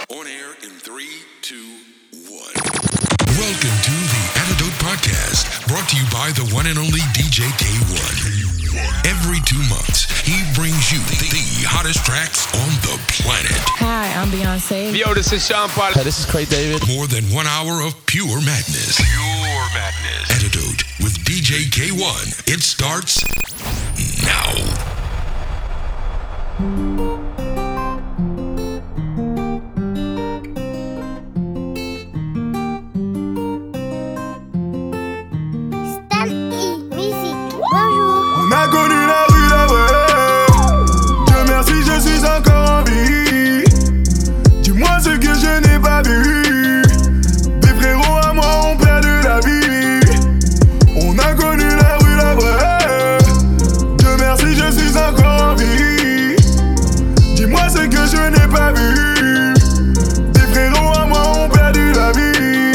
On air in 3, 2, 1. Welcome to the Antidote Podcast, brought to you by the one and only DJ K1. Every 2 months, he brings you the hottest tracks on the planet. Hi, I'm Beyonce. Yo, this is Sean Paul. Hey, this is Craig David. More than 1 hour of pure madness. Pure madness. Antidote with DJ K1. It starts now. On a connu la rue, la vraie. Dieu merci, je suis encore en vie. Dis-moi ce que je n'ai pas vu. Des frérots à moi ont perdu la vie. On a connu la rue, la vraie. Dieu merci, je suis encore en vie. Dis-moi ce que je n'ai pas vu. Des frérots à moi ont perdu la vie.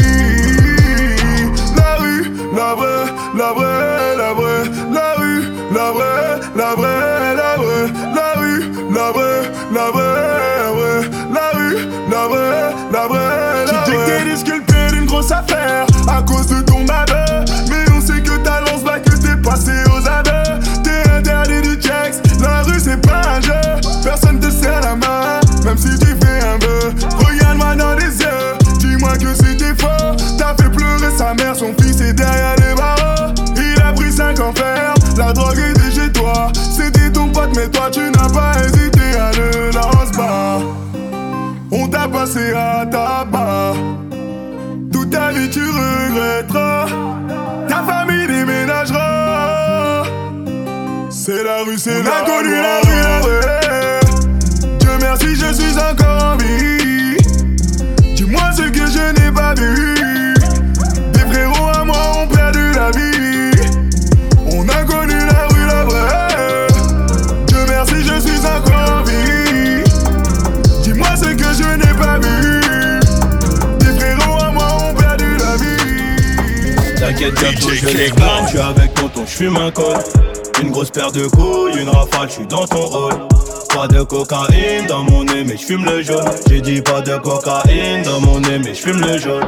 La rue, la vraie, la vraie, la vraie. La rue, la vraie, la vraie, la vraie. La rue, la vraie, la vraie, la rue, la vraie, la vraie, la vraie. Tu dis que t'es disculpé d'une grosse affaire à cause de ton malheur. Mais on sait que ta lance là, que t'es passé aux aveux. T'es interdit du checks, la rue c'est pas un jeu. Personne te serre la main, même si tu fais un vœu. Regarde-moi dans les yeux, dis-moi que c'était faux. T'as fait pleurer sa mère, son fils est derrière les barreaux. Il a pris 5 ans ferme, la drogue était chez toi. C'était ton pote mais toi tu n'as pas hésité à le lance-bas. On t'a passé à tabac. Toute ta vie tu regretteras. Ta famille déménagera. C'est la rue, c'est la connu la rue, la vraie. Dieu merci, je suis encore en vie. Dis-moi ce que je n'ai pas vu. Des frérots à moi ont perdu la vie. On a connu la rue, la vraie. Dieu merci, je suis encore en vie. Dis-moi ce que je n'ai pas vu. Des frérots à moi ont perdu la vie. T'inquiète, bientôt je les gagne. Je suis avec tonton, je fume un col. Une grosse paire de couilles, une rafale, je suis dans ton rôle. Pas de cocaïne dans mon nez, mais je fume le jaune. J'ai dit pas de cocaïne dans mon nez, mais je fume le jaune.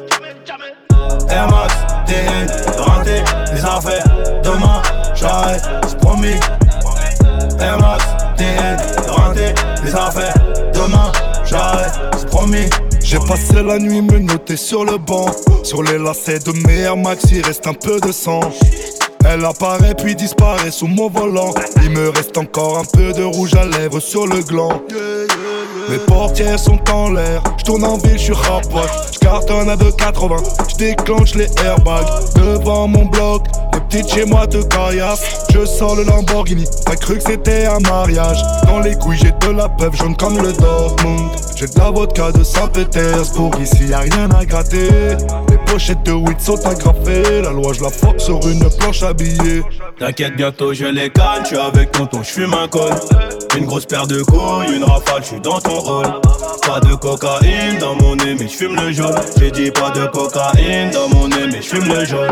Air Max, TN, rentré, les affaires. Demain, j'arrête, c'est promis. Air Max, TN, rentré, les affaires. Demain, j'arrête, c'est promis. J'ai passé la nuit me noter sur le banc. Sur les lacets de mes Air Max, il reste un peu de sang. Elle apparaît puis disparaît sous mon volant. Il me reste encore un peu de rouge à lèvres sur le gland. Mes portières sont en l'air. J'tourne en ville, j'suis rapote. J'cartonne à 2,80. J'déclenche les airbags devant mon bloc. Les petites chez moi te caillassent. Je sors le Lamborghini. T'as cru que c'était un mariage. Dans les couilles j'ai de la peuple jaune comme le Dortmund. J'ai de la vodka de Saint-Pétersbourg. Ici y'a rien à gratter. Les pochettes de weed sont agrafées. La loi je la force sur une planche habillée. T'inquiète, bientôt je les gagne. Je suis avec tonton, je fume un col. Une grosse paire de couilles, une rafale, je suis dans ton rôle. Pas de cocaïne dans mon nez, mais je fume le jaune. J'ai dit pas de cocaïne dans mon nez, mais je fume le jaune.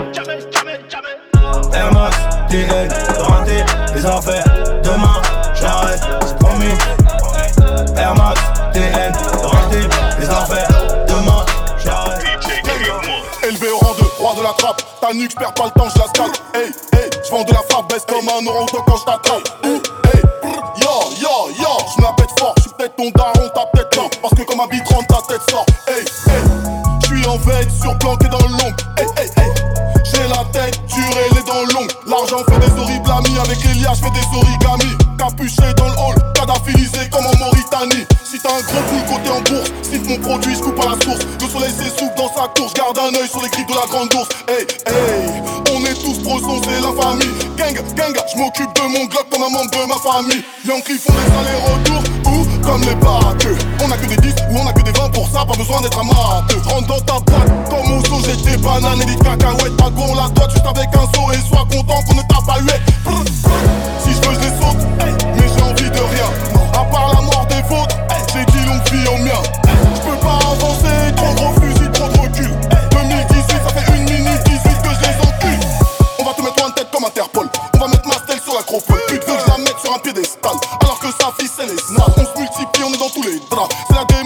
Air Max, TN, rentré, les affaires. Demain, j'arrête, c'est promis. Air Max, TN, rentré, les affaires. Demain, j'arrête. Élevé au rang de roi de la trappe. Ta nuque, j'perds pas le temps, je la scatte. Hey, hey, j'vends de la frappe, baisse comme un orang-outan quand j't'attrape. Hey, yo, yo, yo, j'me la pète fort. J'suis peut-être ton daron, t'as peut-être tort. Parce que comme un bit rentre, ta tête sort. Hey, hey, j'suis en veille, surplanqué dans le long. Hey, hey, hey, j'ai la tête dure et les dents longues. L'argent fait des horribles amis. Avec les liens, j'fais des origamis. Capuché dans le hall, cadaphilisé comme en Mauritanie. Si t'as un gros boule côté en bourse, cite mon produit, j'coupe à la source. Le soleil s'essouffle dans sa course, garde un œil sur les griffes de la grande ours. Hey, hey, on est tous brosons, c'est la famille. Gang, gang, j'm'occupe de mon glock comme un membre de ma famille. Yankees font des allers-retours, ou comme les batteux. On a que des 10 ou on a que des 20 pour ça, pas besoin d'être amateur. J'rentre dans ta boîte, comme au son, j'ai des bananes et des cacahuètes. Pas qu'on la doit, juste avec un saut et sois content qu'on ne t'a pas hué. Si j'veux, j'les saute, hey, mais j'ai envie de rien. À part la mort des vôtres, hey, j'ai dit longue vie au mien. J'peux pas avancer, trop gros fusil, trop de recul. 2018, ça fait 1 minute 18 que je les encule. On va te mettre en tête comme Interpol. On va mettre ma stèle sur l'acropole. Pute veut que je la mette sur un piédestal. Alors que sa fille c'est les snars. On se multiplie, on est dans tous les draps. C'est la démographie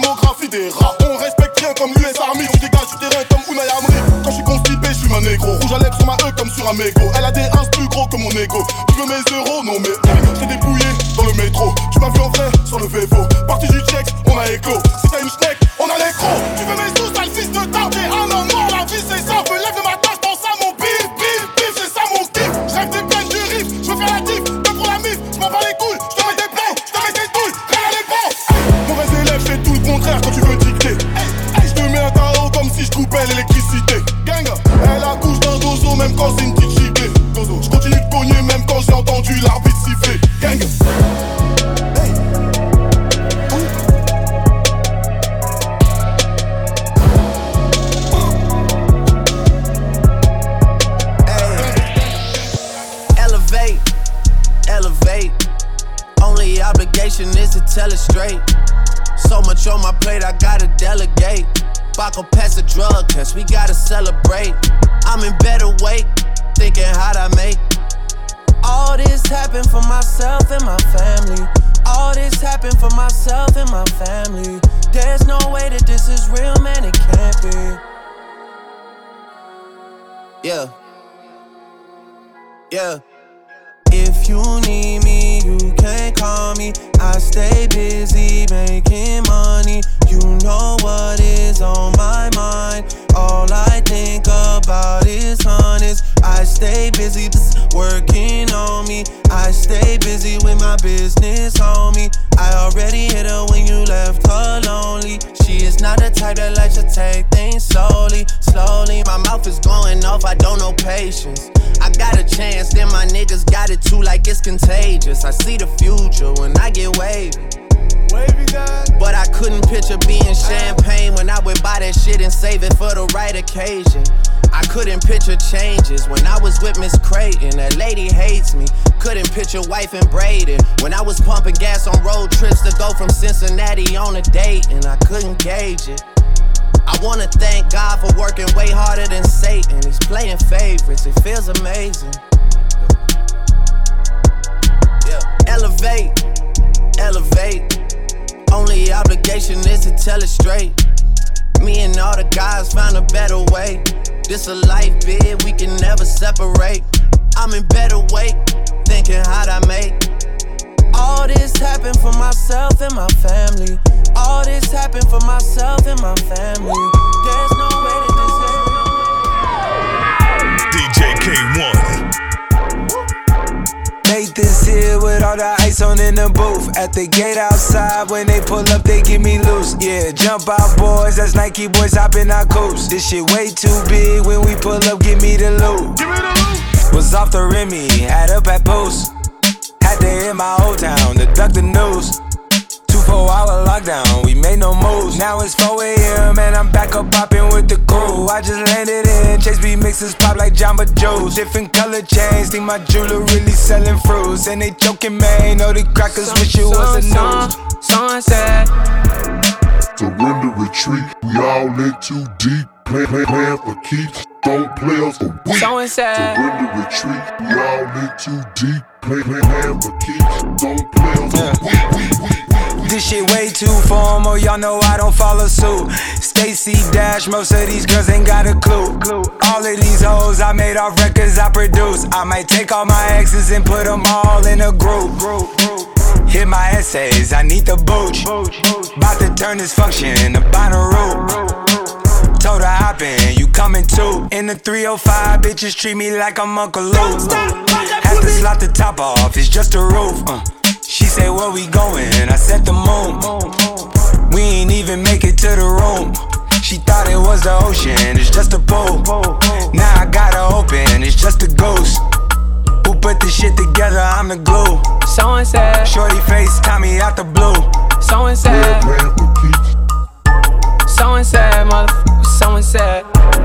des rats. On respecte rien comme l'US Army. On dégage du terrain comme Unai Emery. Quand je suis constipé, je suis un négro. Rouge à lèvres sur ma E comme sur un mégot. Elle a des ins plus gros que mon ego. Tu veux mes euros? Non mais j't'ai dépouillé dans le métro. Tu m'as vu en vrai sur le Vevo. Parti du check, on a éclos. Si t'as une schneck, on a les crocs. Tu veux mes sous, t'as le fils de tard. T'es un homme mort, la vie c'est ça. Me lève le matin, j'pense à mon bif, bif, bif. C'est ça mon kiff. J'rêve des peines du riff. J'veux faire la diff, même pour la mif. J'm'en bats les couilles, j'te mets des plans, j'te mets des douilles. Rien à l'épaule. Mauvais élève, fais tout le contraire quand tu veux dicter. J'te mets un tarot comme si j'coupais l'électricité. Gang, elle accouche d'un dozo même quand c'est une petite giblée. J'continue de cogner même quand j'ai entendu l'arbitre siffler. Gang. Elevate. Only obligation is to tell it straight. So much on my plate, I gotta delegate. Baco pass a drug test, we gotta celebrate. I'm in better weight, thinking how'd I make. All this happened for myself and my family. All this happened for myself and my family. There's no way that this is real, man, it can't be. Yeah. If you need me, you can call me. I stay busy making money. You know what is on my mind. All I think about is honest. I stay busy working on me. I stay busy with my business, homie. I already hit her when you left her lonely. She is not the type that likes to take things slowly. My mouth is going off, I don't know patience. I got a chance, then my niggas got it too, like it's contagious. I see the future when I get wavy. But I couldn't picture being champagne when I would buy that shit and save it for the right occasion. I couldn't picture changes when I was with Miss Creighton. That lady hates me. Couldn't picture wife and Braden when I was pumping gas on road trips to go from Cincinnati on a date, and I couldn't gauge it. I wanna thank God for working way harder than Satan. He's playing favorites, it feels amazing. Yeah. Elevate. Only obligation is to tell it straight. Me and all the guys found a better way. This a life bid, we can never separate. I'm in better weight, thinking how'd I make. All this happened for myself and my family. All this happened for myself and my family. There's no way that this is DJ K1. Made this here with all the ice on in the booth. At the gate outside, when they pull up, they give me loose. Yeah, jump out, boys, that's Nike boys hopping our coops. This shit way too big, when we pull up, give me the loot. Was off the Remy, had up at post. Had to hit my old town to duck the news. 24-hour lockdown, we made no moves. Now it's 4 a.m. and I'm back up popping with the crew. I just landed in, Chase B mixes pop like Jamba Joe's. Different color chains, think my jeweler really selling fruits. And they joking, man, know the crackers wish it was a news. Sunset. Surrender, retreat, we all in too deep. Plan for keeps, don't play us for weeks. Surrender, retreat, we all in too deep. Plan for keeps, don't play us for weeks. This shit way too formal, y'all know I don't follow suit. Stacy Dash, most of these girls ain't got a clue. All of these hoes I made off records I produce. I might take all my exes and put them all in a group. Hit my essays, I need the booch. About to turn this function into Bonnaroo. Told her hop in, you coming too. In the 305, bitches treat me like I'm Uncle Luke. Had to slot the top off, it's just a roof. She said, where we going? I said the moon. We ain't even make it to the room. She thought it was the ocean, it's just a pool. Now I gotta open, it's just a ghost. Who put this shit together? I'm the glue. So sad. Shorty face, Tommy out the blue. So sad. So sad, motherfucker. So sad.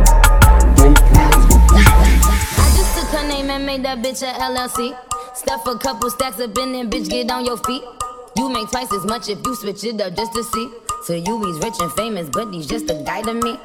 I just took her name and made that bitch a LLC. Stuff a couple stacks up in there, bitch, get on your feet. You make twice as much if you switch it up just to see. So you he's rich and famous, but he's just a guy to me.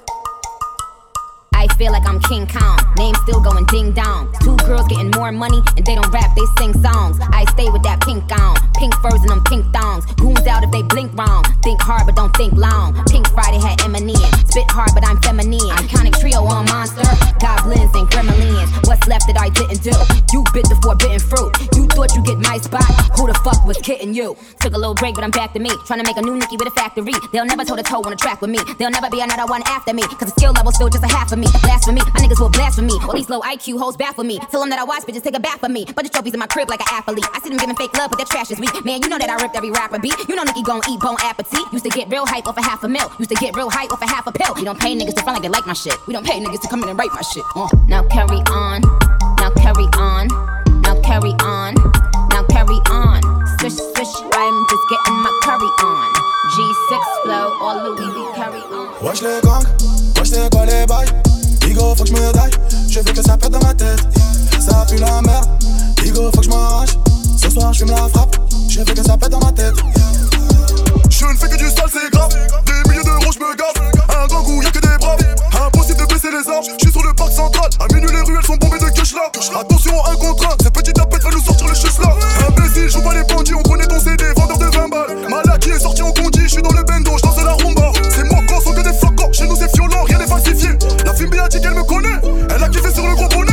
I feel like I'm King Kong, name still going ding dong. Two girls getting more money and they don't rap, they sing songs. I stay with that pink on, Pink furs and them pink thongs. Goons out if they blink wrong. Think hard but don't think long. Pink Friday had Eminem. Spit hard but I'm feminine. Iconic trio on Monster. Goblins and gremlins. What's left that I didn't do? You bit the forbidden fruit. You thought you get my spot. Who the fuck was kidding you? Took a little break but I'm back to me. Trying to make a new Nicki with a factory. They'll never toe to toe on a track with me. They'll never be another one after me. Cause the skill level's still just a half of me. Blasphemy, my niggas will blaspheme me. All these low IQ hoes baffle me. Tell them that I watch bitches take a bath for me. But the trophies in my crib like an athlete. I see them giving fake love but their trash is weak. Man, you know that I ripped every rapper beat. You know Nicki gon' eat bone appetit. Used to get real hype off a $500,000. Used to get real hype off a half a pill. We don't pay niggas to front like they like my shit. We don't pay niggas to come in and write my shit. Now carry on. Now carry on. Now carry on. Now carry on. Swish, swish, I'm just getting my curry on. G6 flow, all Louis V carry on. Wesh les gangs, wesh c'est quoi les bails? Bigo faut que j'me daille, je veux que ça pète dans ma tête. Ça pue la merde, Bigo faut que j'm'arrache. Ce soir j'fume la frappe, je veux que ça pète dans ma tête. Je ne fais que du sale, c'est grave. Des milliers d'euros j'me gave. Un gang où y'a que des braves. Impossible de baisser les armes, j'suis sur le parc central. À minuit les ruelles sont bombées de cash là. Attention un contre un, cette petite tapette va nous sortir les chutes là. Imbécile, joue pas les bandits, on connaît ton CD, vendeur de 20 balles. Malaki est sorti en condi, j'suis dans le bendo, j'danse la rumba. C'est moi quand sont que des flacons, chez nous c'est violent, rien n'est falsifié. La fille a dit qu'elle me connaît, elle a kiffé sur le gros bonnet.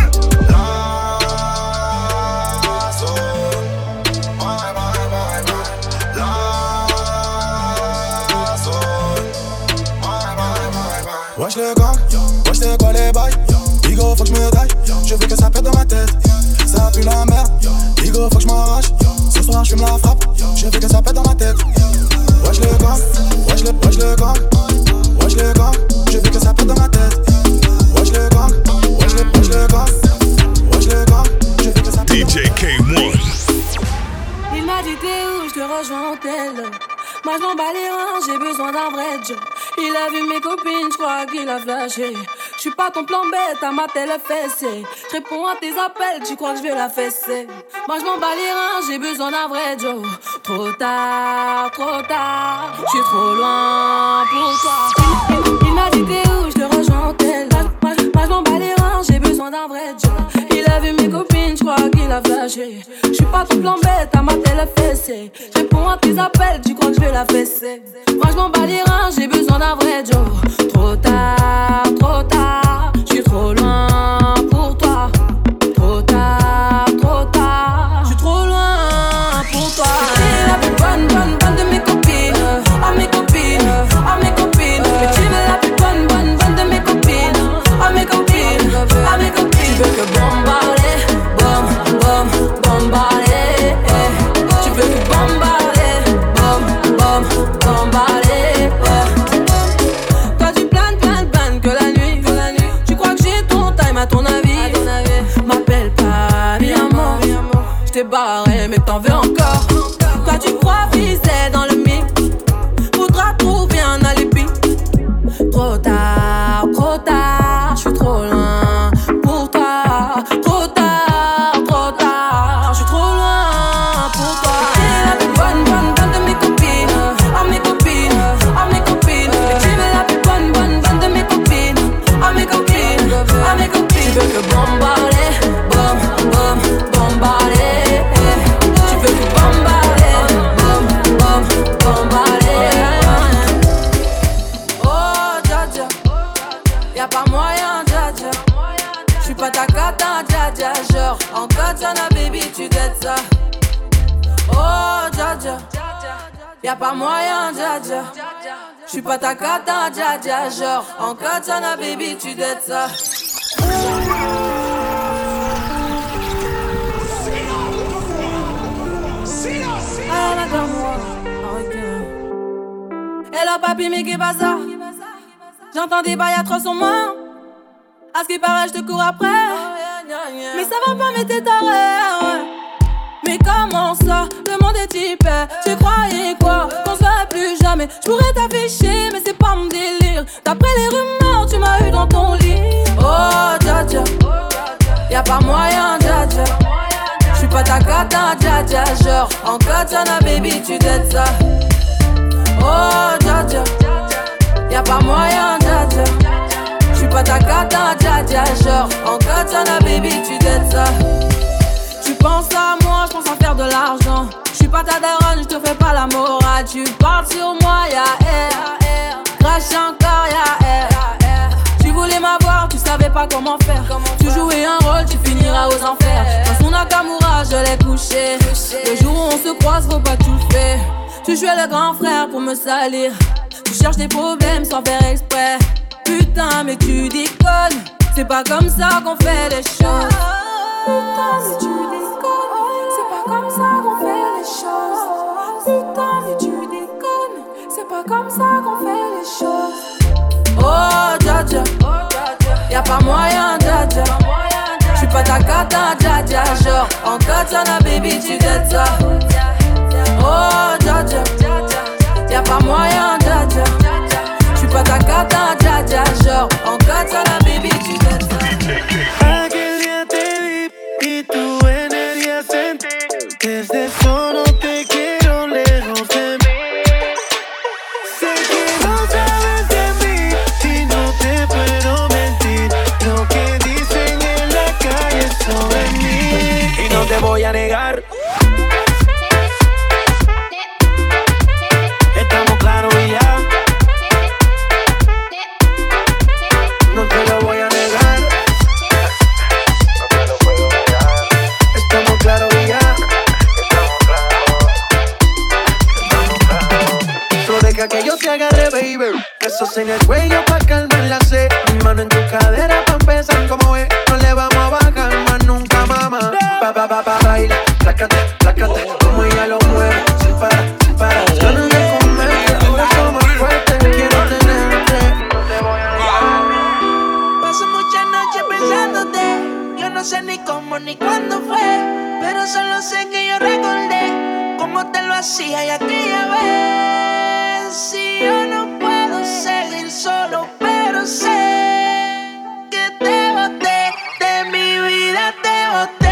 Wesh les gangs, wesh c'est quoi les bails? Bigo faut que j'me daille, je veux que ça pète dans ma tête. Ça pue la merde, Bigo faut que j'm'arrache. Ce soir j'fume la frappe, je veux que ça pète dans ma tête. Wesh les gangs, wesh les gangs, wesh les gangs, je veux que ça pète dans ma tête. Wesh les gangs, wesh les gangs, wesh les gangs, je veux que ça pète dans ma tête. DJ K1. Il m'a dit t'es où, j'te rejoins en tel. Moi je m'en bats les reins, j'ai besoin d'un vrai job. Il a vu mes copines, j'crois qu'il a flashé. J'suis pas ton plan bête, à ma telle fessée. J'réponds à tes appels, tu crois que j'vais la fesser. Moi j'm'en bats les reins, j'ai besoin d'un vrai job. Trop tard, j'suis trop loin pour toi. Il m'a dit t'es où, j'te rejoins en tel. Moi j'm'en bats les reins, j'ai besoin d'un vrai job. Il a vu mes copines, j'crois qu'il a flashé. J'suis pas ton plan bête, à ma telle fessée. J'réponds à tes appels, tu crois que j'vais la fesser. Moi j'm'en bats les reins, j'ai besoin d'un vrai job. Trop tard, j'suis trop loin pour toi. Trop tard, j'suis trop loin pour toi. T'es la plus bonne de mes copines. Oh mes copines, oh mes copines. Mais tu veux la plus bonne de mes copines. Oh mes copines, oh mes copines. Tu veux que bombarder, bombarder. Tu veux que bombarder, bombarder. Toi tu planes que la nuit. Tu crois que j'ai ton time à ton avis. M'appelle pas mi amor. J't'ai barré mais t'en veux encore. Toi tu crois viser dans le mix. Faudra trouver un alibi. Trop tard, j'suis trop loin pour toi. Trop tard, j'suis trop loin pour toi. T'es la plus bonne de mes copines. Oh mes copines, oh mes copines. Et tu veux la plus bonne de mes copines. Oh mes copines, oh mes copines. Tu veux que bombarder, bombarder. Tu veux que bombarder, bombarder. Oh dja dja, y'a pas moyen dja dja. J'suis pas ta cata dja dja. Genre en katana baby tu dettes ça. Oh dja dja, y'a pas moyen dja dja. J'suis pas ta cata dja dja. Genre en katana baby tu dettes ça. Hello papi mais qu'est pas ça? J'entends des bails à 300 mains. À ce qui paraît je te cours après. Mais ça va pas mais t'es taré. Mais comment ça? Le monde est hyper. Tu croyais quoi? Qu'on se verrait plus jamais. J'pourrais t'afficher mais c'est pas mon délire. D'après les rumeurs tu m'as eu dans ton lit. Oh dja dja, y'a pas moyen dja dja. J'suis pas ta cata dja dja. Genre en katana baby tu dettes ça. Oh dja dja, y'a pas moyen dja dja. J'suis pas ta cata dja dja. Genre en katana baby tu dettes ça. Tu penses à moi, j'pense à faire de l'argent. J'suis pas ta daronne, je te fais pas la morale. Tu parles sur moi, y'a air. Crache encore, y'a air. Tu voulais m'avoir, tu savais pas comment faire. Tu jouais un rôle, tu finiras aux enfers. Dans son Nakamura, je l'ai couché. Le jour où on se croise, faut pas tout faire. Tu jouais le grand frère pour me salir. Tu cherches des problèmes sans faire exprès. Putain, mais tu déconnes. C'est pas comme ça qu'on fait les choses. Putain, mais tu déconnes. C'est pas comme ça qu'on fait les choses. Putain, mais tu déconnes. C'est pas comme ça qu'on fait les choses. Oh, dja dja. Y'a pas moyen, dja dja. J'suis pas ta cata, dja dja. Genre, en katana, baby, tu dettes ça. Oh, dja dja. Y'a pas moyen, dja dja. J'suis pas ta cata, dja dja. Genre, en katana, baby, tu dettes ça. Aquel día te vi y tu energía sentí. Desde eso no te quiero lejos de mí. Sé que no sabes de mí y no te puedo mentir. Lo que dicen en la calle sobre mí. Y no te voy a negar. Estamos claros y ya. No te lo voy a negar. Estamos claros y ya. Solo deja que yo te agarre, baby. Besos en el cuello pa' calmar la sed. Mi mano en tu cadera pa' empezar como es. No le vamos a bajar más nunca, mamá. Baila, plácate, plácate. Como ella lo mueve, sin parar, sin parar. Ganas de comerte, tu beso más fuerte. Quiero tenerte. Paso muchas noches pensándote. Yo no sé ni cómo ni cuándo fue, pero solo sé que yo recordé cómo te lo hacía y aquella vez. Si yo no puedo seguir solo, pero sé que te boté, de mi vida te boté.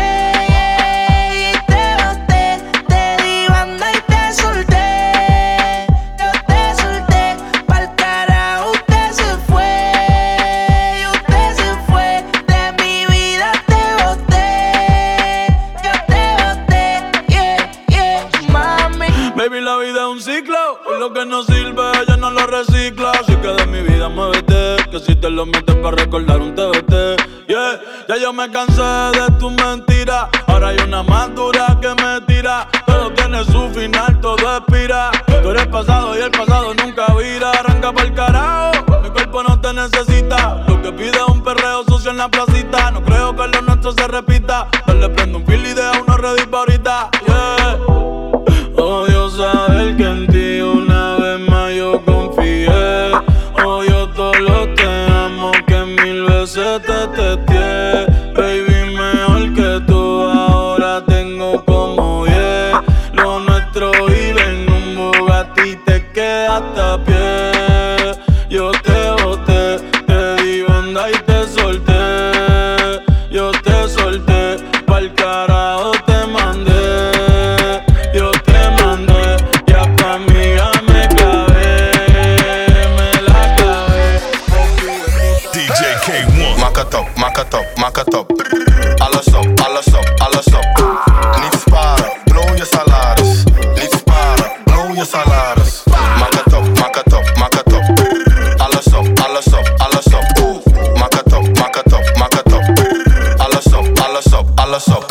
Lo que no sirve, ella no lo recicla. Así que de mi vida muévete, que si te lo metes para recordar un TBT. Yeah, ya yo me cansé de tus mentiras. Ahora hay una más dura que me tira. Todo tiene su final, todo expira. Tú eres pasado y el pasado nunca vira. Arranca pa'l carajo, mi cuerpo no te necesita. Lo que pide es un perreo sucio en la placita. No creo que lo nuestro se repita. Dale, prendo un fil y deja uno ready pa' ahorita. Yeah. Odio saber que en ti una vez más yo confié. Odio todo lo te amo que mil veces te testé. Baby, mejor que tú ahora tengo como 10. Lo nuestro vive en un Bugatti, te quedaste a pie. Yo te boté, te di banda y te solté. Yo te solté, pa'l carajo te mandé. Maak het op, alles op, alles op, alles op. Niet sparen, blow je salaris. Niet sparen, blow je salaris. Maak het op, maak het op, maak het op. Alles op, alles op, alles op. Maak het op, maak het op, maak het op. Alles op, alles op, alles op.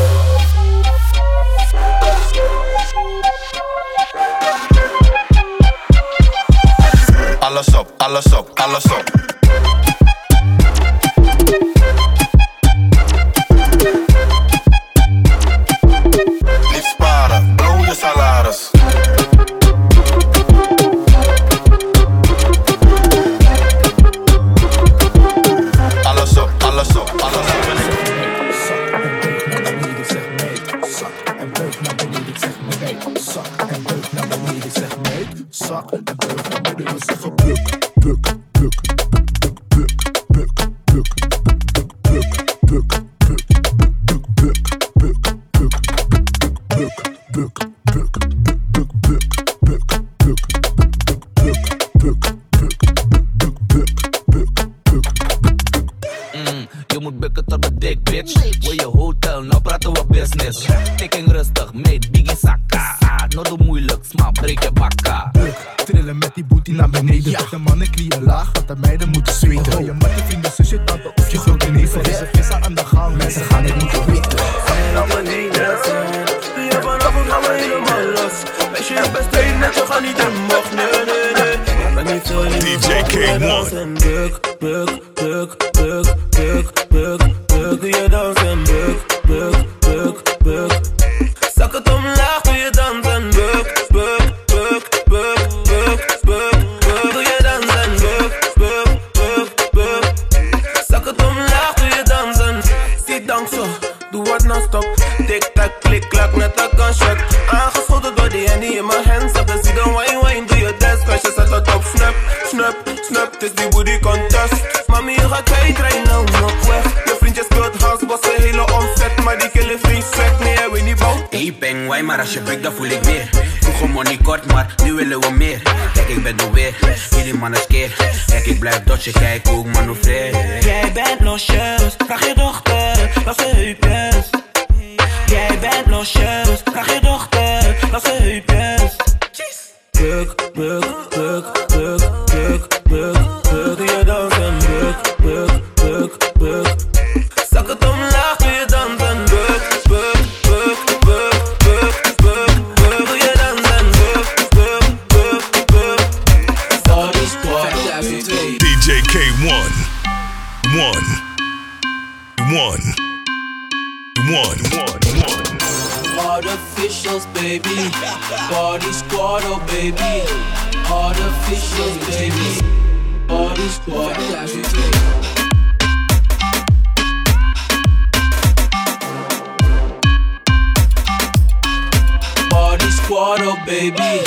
Alles op, alles op, alles op. Je moet bukken tot de dik, bitch. Wil je hotel, nou praten we business. Ik ging rustig, mate, biggie sakka. De mannen knieën laag, want de meiden moeten zweten. Gooi je met je vrienden, zusje, tante of je grote neven. Er is een vissa aan de gang, mensen gaan het niet weten. Laat me niet dansen. Ja, vanavond gaan we helemaal los. Wees je best één net, we gaan niet in mocht. Nee. DJ K1. Buk, buk, buk, buk, buk, buk, buk. Doe je dansen, buk, buk, buk, buk. Zak het omlaag, doe je dansen, buk, buk, buk, buk, buk, buk, buk. Doe je dansen, buk, buk, buk, buk. Zak het omlaag, doe je dansen. Zie dank zo, doe wat non-stop. Tik-tak, klik-klak, net een gunshot. Aangeschoten door die handy in mijn hands up. Dan zie dan wine, doe je dance, crash, je zet het op. Snap, snap, snap, het is die booty contest. Mami, je gaat kwijt, nou nog weg. Je vriendje speelt house, was een hele omzet. Maar die killen vriend swag, nee, hij weet niet bouw. Hey, bang, why, maar als je breekt, dan voel ik weer. Vroeger money kort, maar nu willen we meer. Kijk, ik ben er weer, jullie mannen skeer. Kijk, ik blijf dodgen, kijk hoe ik manoeuvreer. Jij bent losjes, vraag je dochter, laat ze heupjes. Jij bent losjes, vraag je dochter, laat ze heupjes. Buk, buk, buk, buk, buk, buk, buk. Doe je dansen, buk, buk, buk, buk. Zak het omlaag, doe je dansen, buk, buk, buk, buk, buk, buk, buk. Doe je dansen, buk, buk, buk, buk. Sorry, squad. DJ K1. One. Artificials, baby. Party squad, oh baby. Artificials, baby. Party squad. Party squad, oh baby.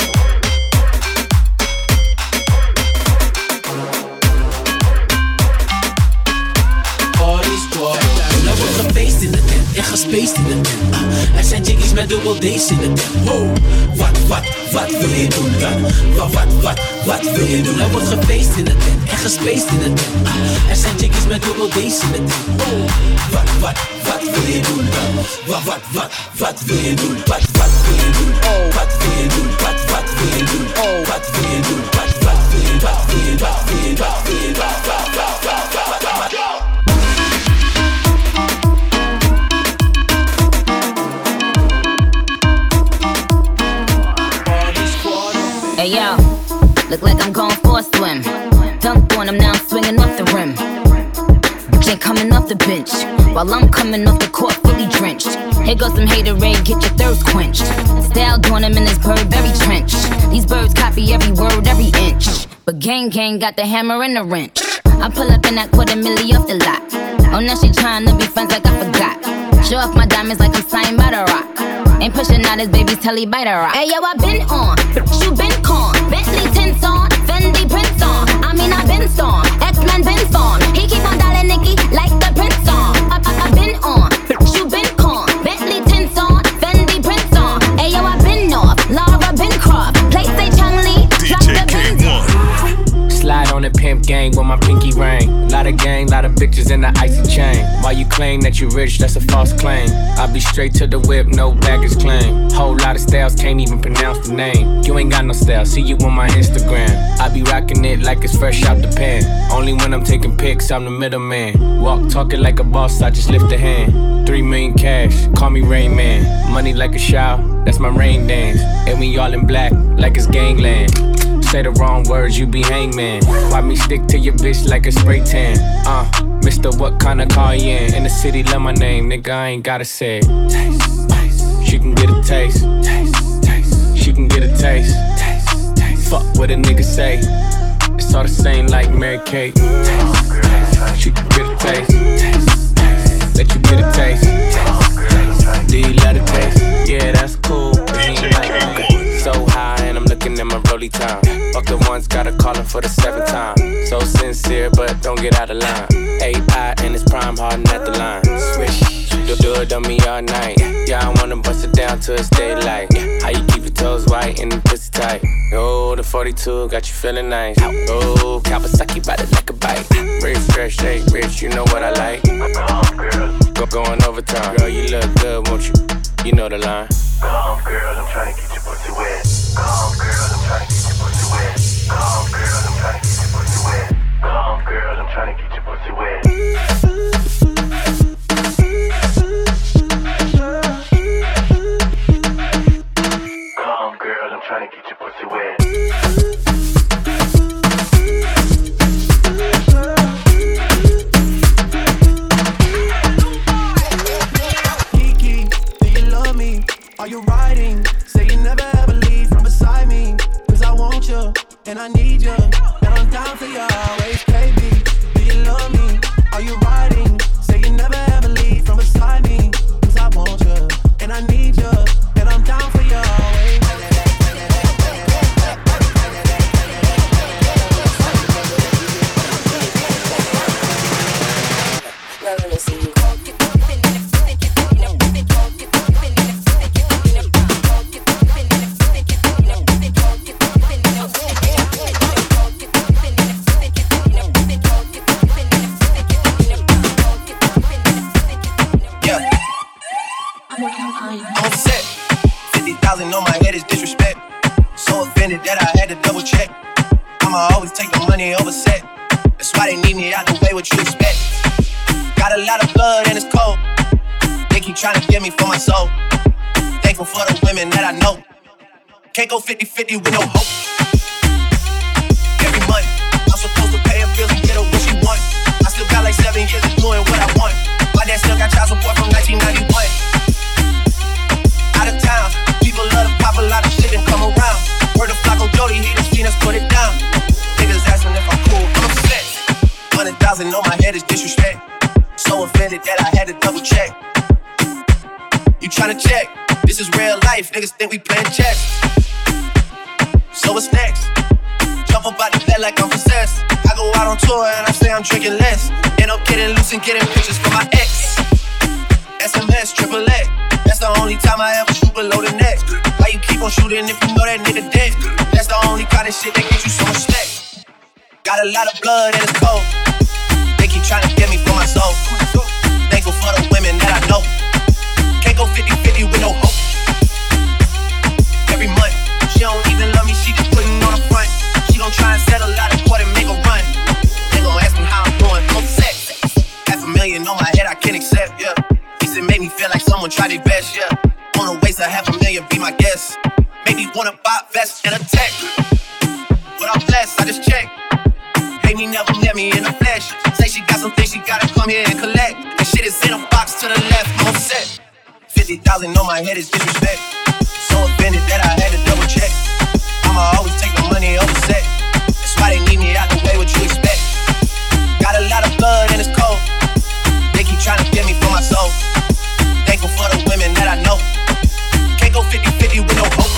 Party squad. Er wordt gefeest in de tent en gespaced in de tent. Er zijn chickies met dubbel D's in de tent. Wow, wat wil je doen dan? Wat wil je doen? Er wordt gefeest in de tent en gespaced in de tent. Er zijn chickies met dubbel D's in de tent. Wow, wat wil je doen dan? Wat wil je doen? Wat wil je doen? Oh, wat wil je doen? Wat wil je doen? Oh, wat wil je doen? Wat wil je? Wat wil je? Wat wil je? Wat wil je? Hey yo, look like I'm going for a swim. Dunked on him, now I'm swinging off the rim. Bitch ain't coming off the bench, while I'm coming off the court fully drenched. Here goes some haterade, get your thirst quenched. Style doing him in this Burberry trench. These birds copy every word, every inch. But gang got the hammer and the wrench. I pull up in that $250,000 off the lot. Oh, now she tryna be friends like I forgot. Show off my diamonds like I'm signed by the rock. Ain't pushing out his baby's telly by the rock. Hey yo, I been on, you been con. Bentley tints on, Fendi prints on. I mean I been storm, X-Men been formed. He keep on dialing Nicki like the Prince song. I been on, you been con. Bentley tints on, Fendi prints on. Hey yo, I been off, Laura been Croft. Play say Chung-Li, drop the Benz. Slide on the pimp gang with my pinky ring. Lot of gang, lot of bitches in the icy chain. While you claim that you rich, that's a false claim. I be straight to the whip, no baggage claim. Whole lot of styles, can't even pronounce the name. You ain't got no style, see you on my Instagram. I be rocking it like it's fresh out the pan. Only when I'm taking pics, I'm the middleman. Walk talking like a boss, I just lift a hand. 3 million cash, call me Rain Man. Money like a shower, that's my rain dance. And we all in black, like it's gangland. Say the wrong words, you be hangman. Why me stick to your bitch like a spray tan? Mister, what kind of car you in? In the city, love my name, nigga, I ain't gotta say it. Taste, she can get a taste. Taste, she can get a taste. Taste, fuck what a nigga say. It's all the same like Mary Kate. Taste, she can get a taste. Taste, let you get a taste. Do you let it taste? Yeah, that's cool. So high and I'm looking at my rollie time. Fuck the ones, gotta call him for the 7th time. So sincere, but don't get out of line. AI and it's prime, hardin' at the line. Swish, do it on me all night. Yeah, I wanna bust it down till it's daylight. How you keep your toes white and the pussy tight? Oh, the 42 got you feeling nice. Oh, Kawasaki bite it like a bite. Rich, fresh, shake, rich, you know what I like. Going overtime, girl, you look good, won't you? You know the line. Come, girl, I'm trying to get your pussy wet. Come, girl, I'm trying to get your pussy wet. Come, girl, I'm and I'm down for you always, baby. Do you love me? Are you riding? Say you never ever leave from beside me. Cause I want you, and I need you, and I'm down for you always. Let me see you. I'm set. 50,000 on my head is disrespect. So offended that I had to double check. I'ma always take the money over set. That's why they need me out the way, what you expect. Got a lot of blood and it's cold. They keep trying to get me for my soul. Thankful for the women that I know. Can't go 50-50 with no hope. Every month, I'm supposed to pay her bills and get her what she want. I still got like 7 years of doing what I want. My dad still got child support from 1991. Out of town, people love to pop a lot of shit and come around. Word of Flacco Jody, he done seen us put it down. Niggas asking if I'm cool, I'm upset. 100,000 on my head is disrespect. So offended that I had to double check. You tryna check? This is real life, niggas think we playing chess. So what's next? Jump up out the bed like I'm possessed. I go out on tour and I say I'm drinking less. End up getting loose and getting pictures from my ex. SMS, triple X. That's the only time I ever shoot below the neck. Why you keep on shooting if you know that nigga dead? That's the only kind of shit that gets you so much respect. Got a lot of blood and it's cold. They keep trying to get me for my soul. Thankful for the women that I know. Can't go 50-50 with no hope. Every month, she don't even love me, she just putting on the front. She gon' try and settle out of court and make a run. They gon' ask me how I'm doing, I'm set. $500,000 on my head, I can't accept, yeah. He said make me feel like someone tried their best, yeah. Wanna waste $500,000, be my guest. Make me wanna buy a vest and a tech. But I'm blessed, I just checked. Hate me, never met me in the flesh. Say she got some things she gotta come here and collect. And shit is in a box to the left, I'm set. 50,000 on my head is disrespect. So offended that I had to double check. I'ma always take the money over set. That's why they need me out the way, what you expect. Got a lot of blood and it's cold. They keep trying to get me for my soul. Thankful for the women that I know. Can't go 50-50 with no hope.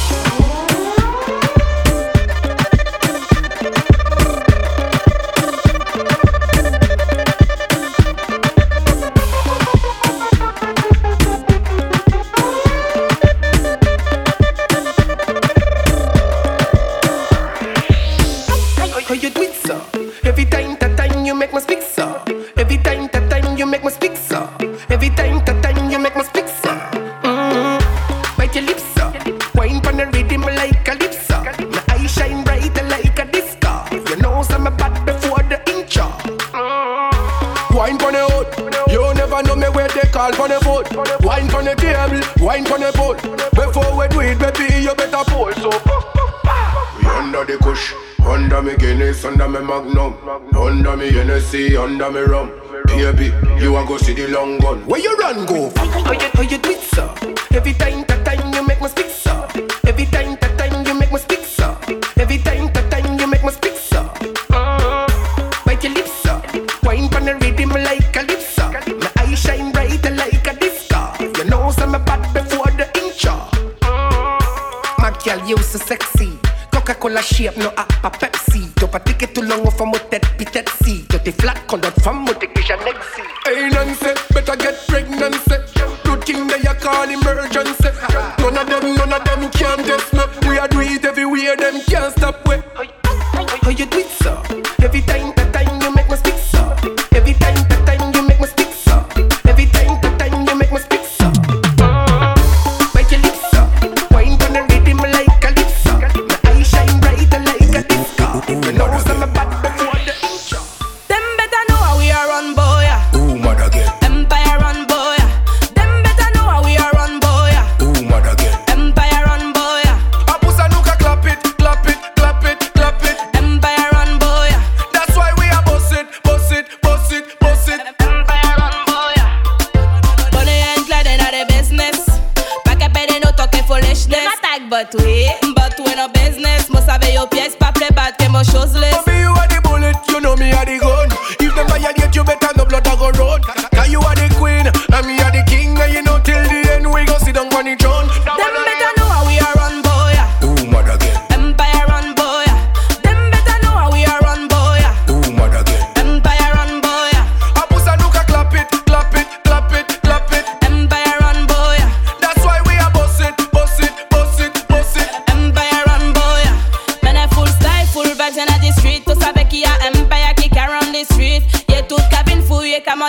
How you do it, sir? Every time that time you make me speak, sir. Every time that time you make me speak, sir. Every time that time you make me speak, sir. Bite your lips, sir. Wine pon the rhythm like a lip, sir. My eyes shine bright like a disco. You know some bad before the intro. Wine pon the hood. You never know me where they call pon the foot. Wine pon the table, wine pon the boat. Before we do it, baby, you better pull. So we under the kush. Under me Guinness, under me Magnum, under me Hennessy, under me rum. Baby, you a go see the long gun. Where you run go? How you do it, sir? Every time that time you make me speak, sir. Every time that time you make me speak, sir. Every time that time you make me speak, sir. Bite your lips, sir. Wine pon the rhythm like a lip, sir. My eyes shine bright like a disco. You know some bad before the intro. My girl, you so sexy. Coca-Cola shape, no a Pepsi. T'as pas ticket tout long au fond tête pitette si. T'as tes flat quand d'autres femmes m'ont déjà nexi. Hey Nancy, better get pregnant. Good thing they a call emergency. None of them can test me. We a do it everywhere, them can't stop we. How you do it, sir? Every time that time you make me speak, sir. Every time that time you make me speak, sir. Every time that time you make me speak, sir. Bite your lips, sir. Wine pon the rhythm like a lip, sir. My eyes shine bright like a disco. You know some bad before the intro. Them better know how we are run, boy. Ooh, mother girl. Empire run, boy.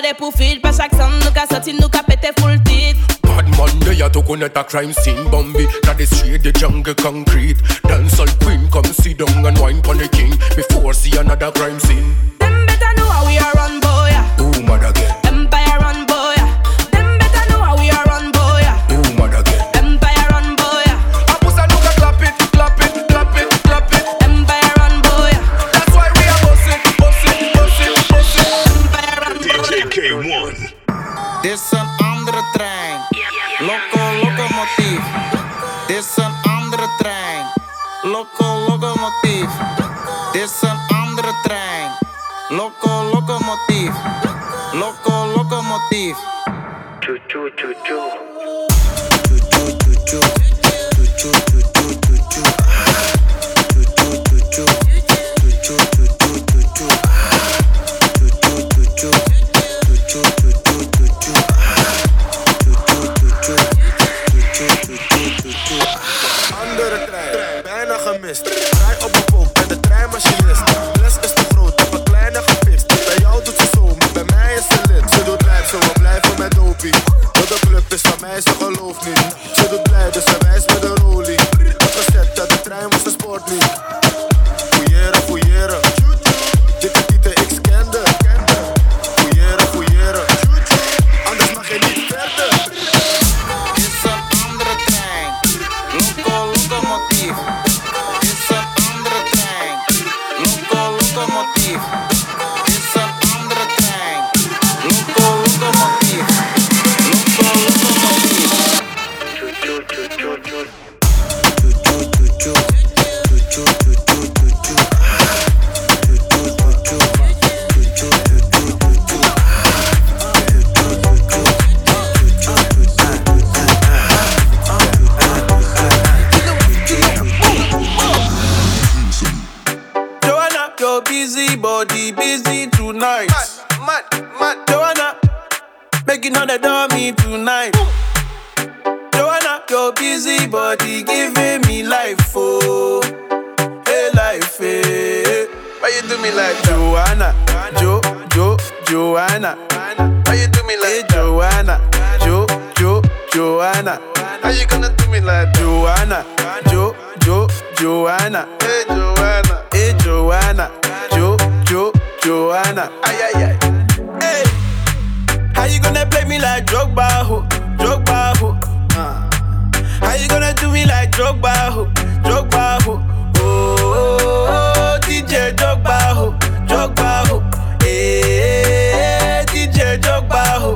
body pour feed. Pas chaque sound, nous qu'a sorti, nous qu'a pété full titre. Bad Monday, ya to connect a crime scene. Bambi, that is straight the jungle concrete. Dancehall queen, come sit down and wine pon the king before see another crime scene. Them better know how we are run, boy. Who mad again? Empire run, boy. Them better know how we are run, boy. Who mad again? Empire run, boy. Apusa look at clap it, clap it, clap it, clap it. Empire run, boy. That's why we are bossing, bossing, bossing, bossing. Empire run, DJ K1. Dit is een andere trein. Locomotief. Dit is een andere trein. Locomotief. Dit is een andere trein. Locomotief. Locomotief. Choo choo choo choo. Choo choo choo choo. Choo choo choo choo choo choo. Choo choo choo choo. Choo choo choo choo choo choo. Choo choo choo choo. Choo choo choo choo choo choo. Andere trein, bijna gemist. Rij op een pook, ben de treinmachinist. Les is te groot, heb een kleine gefixt. Bij jou doet ze zo, maar bij mij is ze lid. Ze doet lijf, zo we blijven met dopie. Want de club is van mij, ze gelooft niet. Ze doet blij, dus ze wijst met een rolie. Opgezet, dat de trein was een sport niet. Fouilleren, fouilleren. Dikke tieten, ik scande. Fouilleren, fouilleren. Anders mag je niet verder. Locomotief. Is een andere trein. Locomotief. Is een andere trein. Locomotief. Locomotief. Choo choo choo choo choo. Choo choo choo choo. Choo choo choo choo choo choo. Choo choo choo choo. Choo choo choo choo choo choo. Your busy body busy tonight. Mad. Joanna, making on the dummy tonight. Joanna, your busy body giving me life, oh, hey life, hey. Why you do me like Joanna? Joanna. Why you do me like Joanna? Joanna. How you gonna do me like Joanna? Joanna. Hey Joanna. Hey Joanna. Joanna. Ay. Hey. How you gonna play me like Drogba ho? How you gonna do me like Drogba ho? Oh, DJ Drogba ho. Hey, DJ Drogba ho.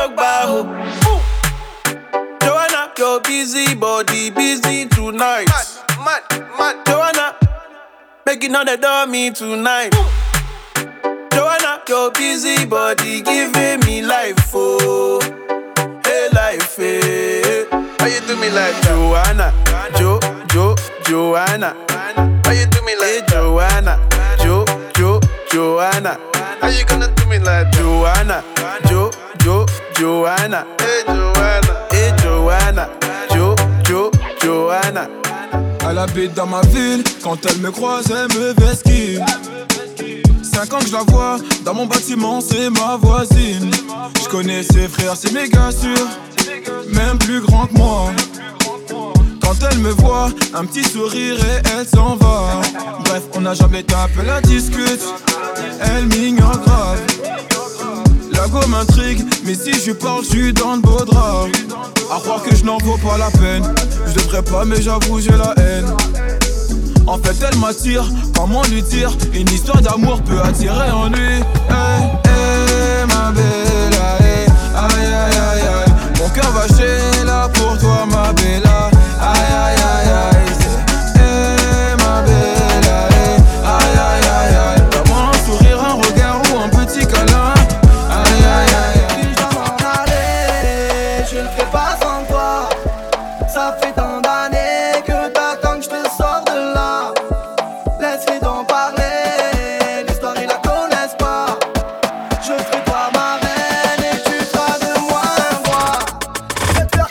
Joanna, your busy body busy tonight. Mad. Joanna, making all the dummy tonight. Joanna, your busy body giving me life, oh, hey life, hey. Why you do me like Joanna? Joanna. Why you do me like Joanna? Joanna. How you gonna do me like Joanna? Joanna. Hey Joanna. Joanna. Elle habite dans ma ville, quand elle me croise, elle me vesquille. 5 ans que je la vois, dans mon bâtiment, c'est ma voisine. Je connais ses frères, c'est méga sûr, même plus grand que moi. Quand elle me voit, un petit sourire et elle s'en va. Bref, on n'a jamais tapé la discute, elle m'ignore grave. La go m'intrigue, mais si je parle, je suis dans le beau drap. À croire que je n'en vaux pas la peine. Je devrais pas, mais j'avoue, j'ai la haine. En fait, elle m'attire, comment lui dire? Une histoire d'amour peut attirer en lui. Hey, ma bella, hey. Aïe, aïe, aïe, aïe. Mon cœur va chez là pour toi, ma bella. Aïe, aïe, aïe, aïe. Hey, ma bella, hey. Aïe, aïe, aïe, aïe. Vraiment un sourire, un regard ou un petit câlin. Aïe, aïe, aïe, aïe. Je dois m'en aller, je ne fais pas sans toi. Ça fait tant d'années que t'attends que je te sors de là. Laisse-les donc parler, l'histoire ils la connaissent pas. Je ferai toi ma reine et tu feras de moi un roi. Je vais te faire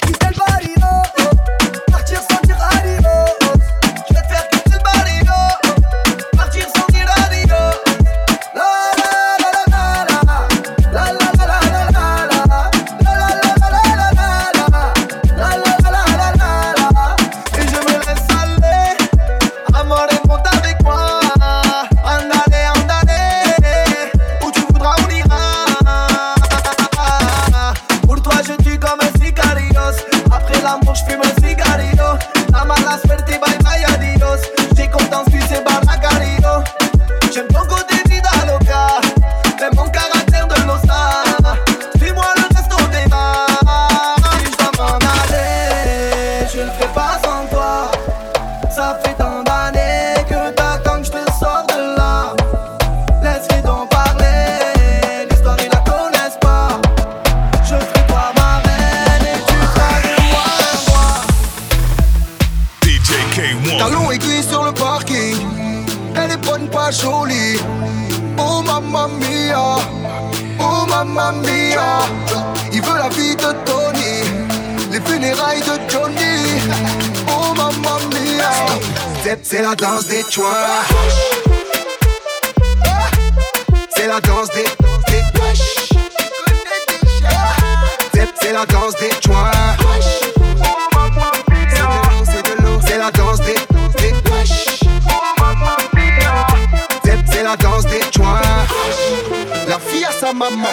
mamma mia. Il veut la vie de Tony, les funérailles de Johnny. Oh mamma mia. C'est la danse des joints. C'est la danse des wesh. C'est la danse des joints. C'est la danse des wesh. C'est la danse des joints. La fille à sa maman.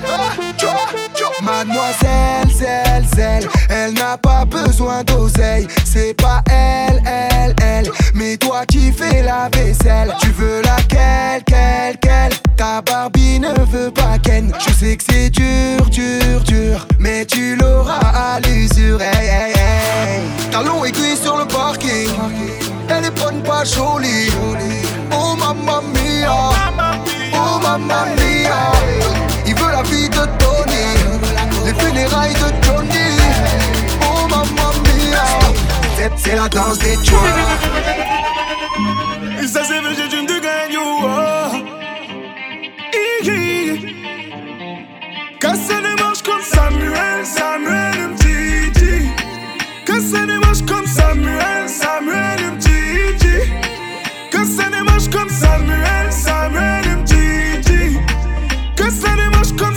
Mademoiselle, zèle, elle n'a pas besoin d'oseille. C'est pas elle, mais toi qui fais la vaisselle. Tu veux laquelle, ta Barbie ne veut pas Ken. Je sais que c'est dur, mais tu l'auras à l'usure. Hey. Talons aiguilles sur le parking, elle est bonne, pas jolie. Oh mamma mia, oh mamma mia. Il veut la vie de Tony, les funérailles de Johnny. Oh mamma mia. C'est la danse des joints. Et ça c'est vrai, j'ai une de gagne. Casse les manches comme Samuel Mtiti. Casse les manches comme Samuel Mtiti. Casse les manches comme Samuel Mtiti. Casse les manches comme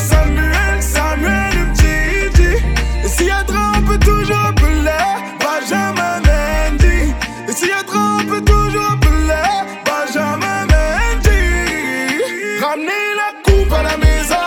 Samuel Mtiti. Et s'il y a trop, on peut toujours appeler Benjamin Mendy. Et s'il y a trop, on peut toujours appeler Benjamin Mendy. Ramenez la coupe à la maison.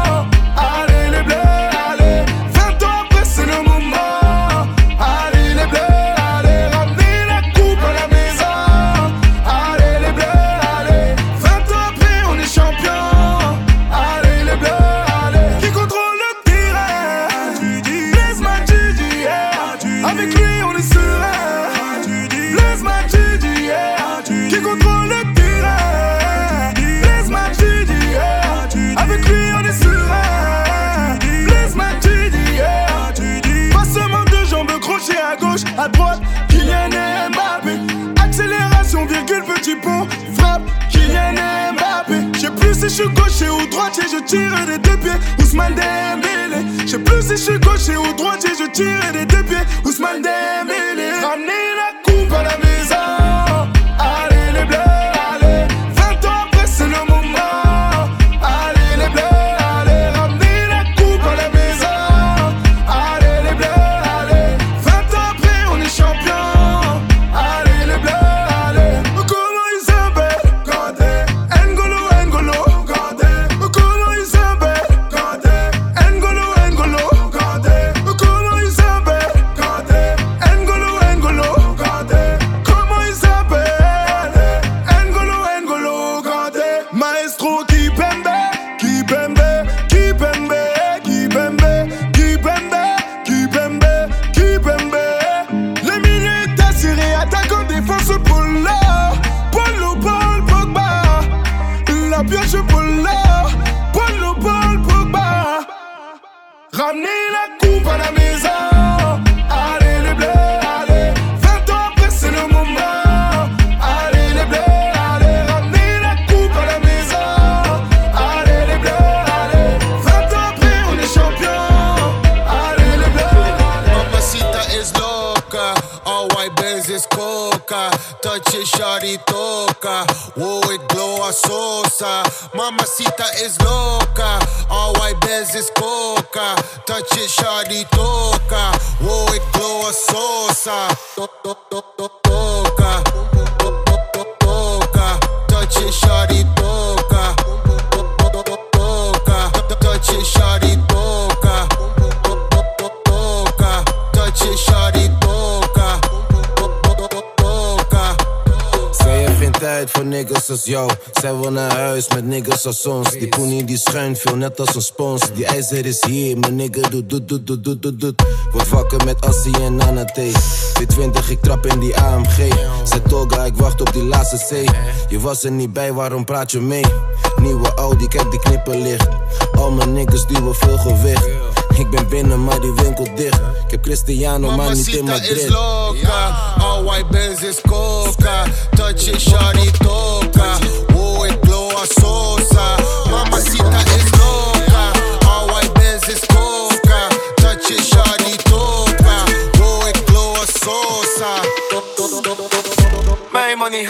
Allez les bleus, allez. 20 ans après c'est le moment. Allez les bleus, allez. Ramenez la coupe à la maison. Allez les bleus, allez. 20 ans après on est champion. Allez les bleus, allez. Qui contrôle le terrain? Blaise Matuidi, yeah. Avec lui on est serein. Blaise Matuidi, yeah. Qui contrôle le terrain? Blaise Matuidi, yeah. Avec lui on est serein. Blaise Matuidi, yeah. Passement de jambes, crochet à gauche, à droite. Kylian Mbappé. Accélération, virgule, petit pont. Frappe, Kylian Mbappé. Je sais plus si je suis gaucher ou droitier, je tire des deux pieds. Ousmane Dembélé. Je sais plus si je suis gaucher ou droitier, je tire des deux pieds. Ousmane Dembélé. Ramenez la coupe à la maison. Allez les bleus, allez. 20 ans après c'est le moment. Allez les bleus, allez. Ramenez la coupe à la maison. Allez les bleus, allez. 20 ans après on est champion. Allez les bleus, allez. Comment ils s'appellent? Kanté. N'Golo, Kanté. Comment ils s'appellent? Kanté. N'Golo, Kanté. Comment ils s'appellent? Kanté. N'Golo, Kanté. Comment ils s'appellent? N'Golo, Kanté. Maestro Kipembe. Les milieux t'assurés, attaquant, défense, Paul Pogba. La pioche, Paul Pogba. Ramenez la coupe à la maison. Allez les bleus, allez. 20 ans après c'est le moment. Allez les bleus, allez. Ramenez la coupe à la maison. Allez les bleus, allez. 20 ans après on est champion. Allez les bleus, allez. Mamacita is loca, all white Benz is coca. Touch it, shawty toca. Whoa, it glow a sosa. Mamacita is loca, all white Benz is coca. Touch it, shawty toca. Whoa, it glow a sosa. Toca. Touch it, shawty toca. Touch it, shawty toca. Touch it, shawty toca. Zij heeft geen tijd voor niggas als jou. Zij wil naar huis met niggas als ons. Die poenie die schuin veel net als een spons. Die ijzer is hier, mijn nigga doet. Word wakker met Assie en Nana T. V20, ik trap in die AMG. Zet Toga, ik wacht op die laatste C. Je was er niet bij, waarom praat je mee? Nieuwe Audi, kijk die knippen licht. Al mijn niggas duwen veel gewicht. Ik ben binnen, maar die winkel dicht. Ik heb Cristiano, maar niet in Madrid. Mamacita is loca, all white Benz is coca. Touch it, shawty toca. Whoa, it glow a sosa. Mamacita is loca,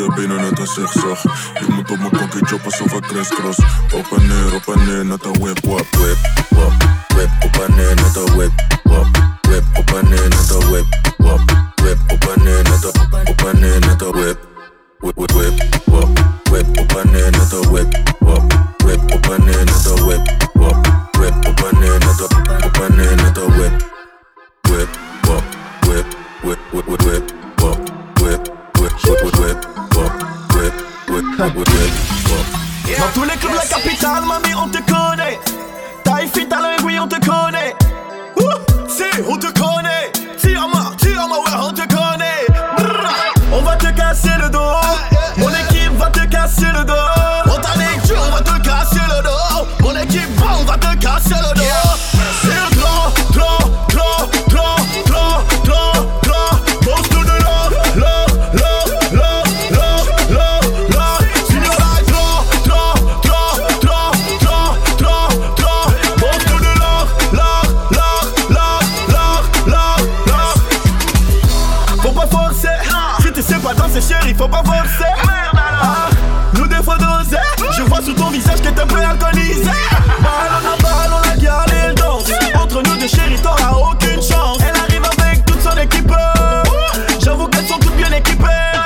je benen net een zigzag. Je moet op mijn kokkie choppen zo van crisscross. Op en neer, net een whip, wap, whip, wap. Whip, op en neer, net een whip, wap. Whip, op en neer, net een whip, wap. Whip, op en neer, net een whip. Whip, whip, whip, wap. Whip, op en neer, net een whip, wap. Whip, op en neer, net een whip, wap. Whip, op en neer, net een whip. Whip, wap, whip, whip, whip, whip, whip, wap. Whip, whip, whip, whip, whip, wap. Whip, whip, whip, whip, whip, wap. Dans tous les clubs de la capitale, mamie, on te connaît. Taille fit à l'œil, oui, on te connaît. Si, on te connaît. Tire-moi, ouais, on te connaît. On va te casser le dos. Mon équipe va te casser le dos. On t'a dit, on va te casser le dos. Mon équipe, on va te casser le dos. C'est le grand. Boss to the love. Signora, boss to the love. Faut pas forcer. Si tu sais pas danser, chérie, faut pas forcer. Nous des fois doser. Je vois sur ton visage que t'es prêt à alcoolisé. Balle, on a gardé le danse. Entre nous deux, chérie, t'auras aucune chance. Elle arrive avec toute son équipe. J'avoue qu'elles sont toutes bien équipées.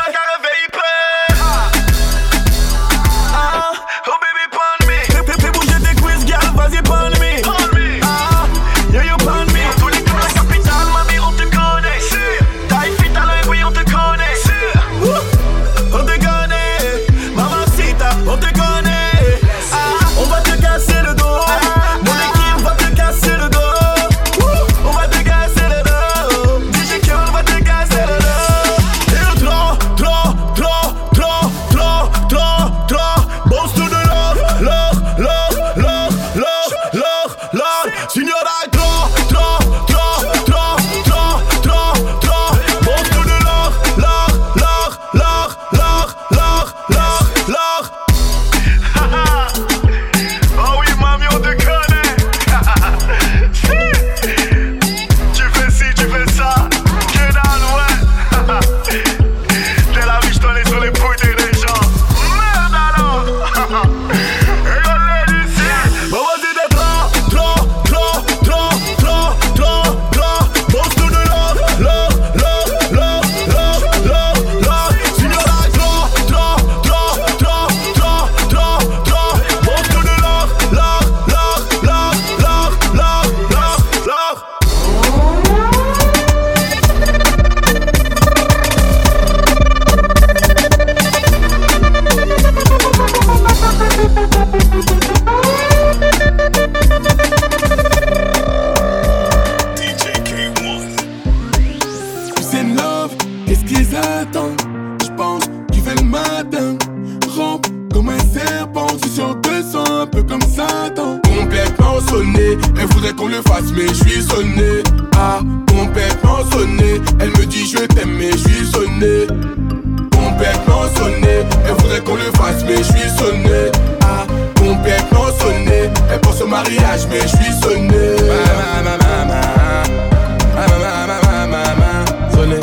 Oh baby, pound me. Fais bouger tes quiz, girl, vas-y, pound me. You pound me. Tous les clubs de la capitale, mamie, on te connaît. Taille fit à l'œil, oui, on te connaît. On te connaît. Mamacita, on te connaît. On va te casser le dos. Mon équipe va te casser le dos. On va te casser le dos. DJ Q, on va te casser le dos. Et le boss to the love. Signora, boss to the love. Oh oui, mamie, on te connaît. Tu fais ci, tu fais ça. Que dalle, ouais. Dès la vie, je t'en ai sur les pouilles des gens. Merde alors. Et on l'est d'ici. Bon, vas-y, t'es trop. Boss to the love. Signora, boss to the love. C'est love, qu'est-ce qu'ils attendent? J'pense tu fais le matin. Rampe comme un serpent, je suis sur 200, un peu comme Satan. Complètement sonné, elle voudrait qu'on le fasse, mais je suis sonné. Complètement sonné, elle me dit je t'aime, mais je suis sonné. Complètement sonné, elle voudrait qu'on le fasse, mais je suis sonné. Complètement sonné, elle pense au mariage, mais je suis sonné. Sonné,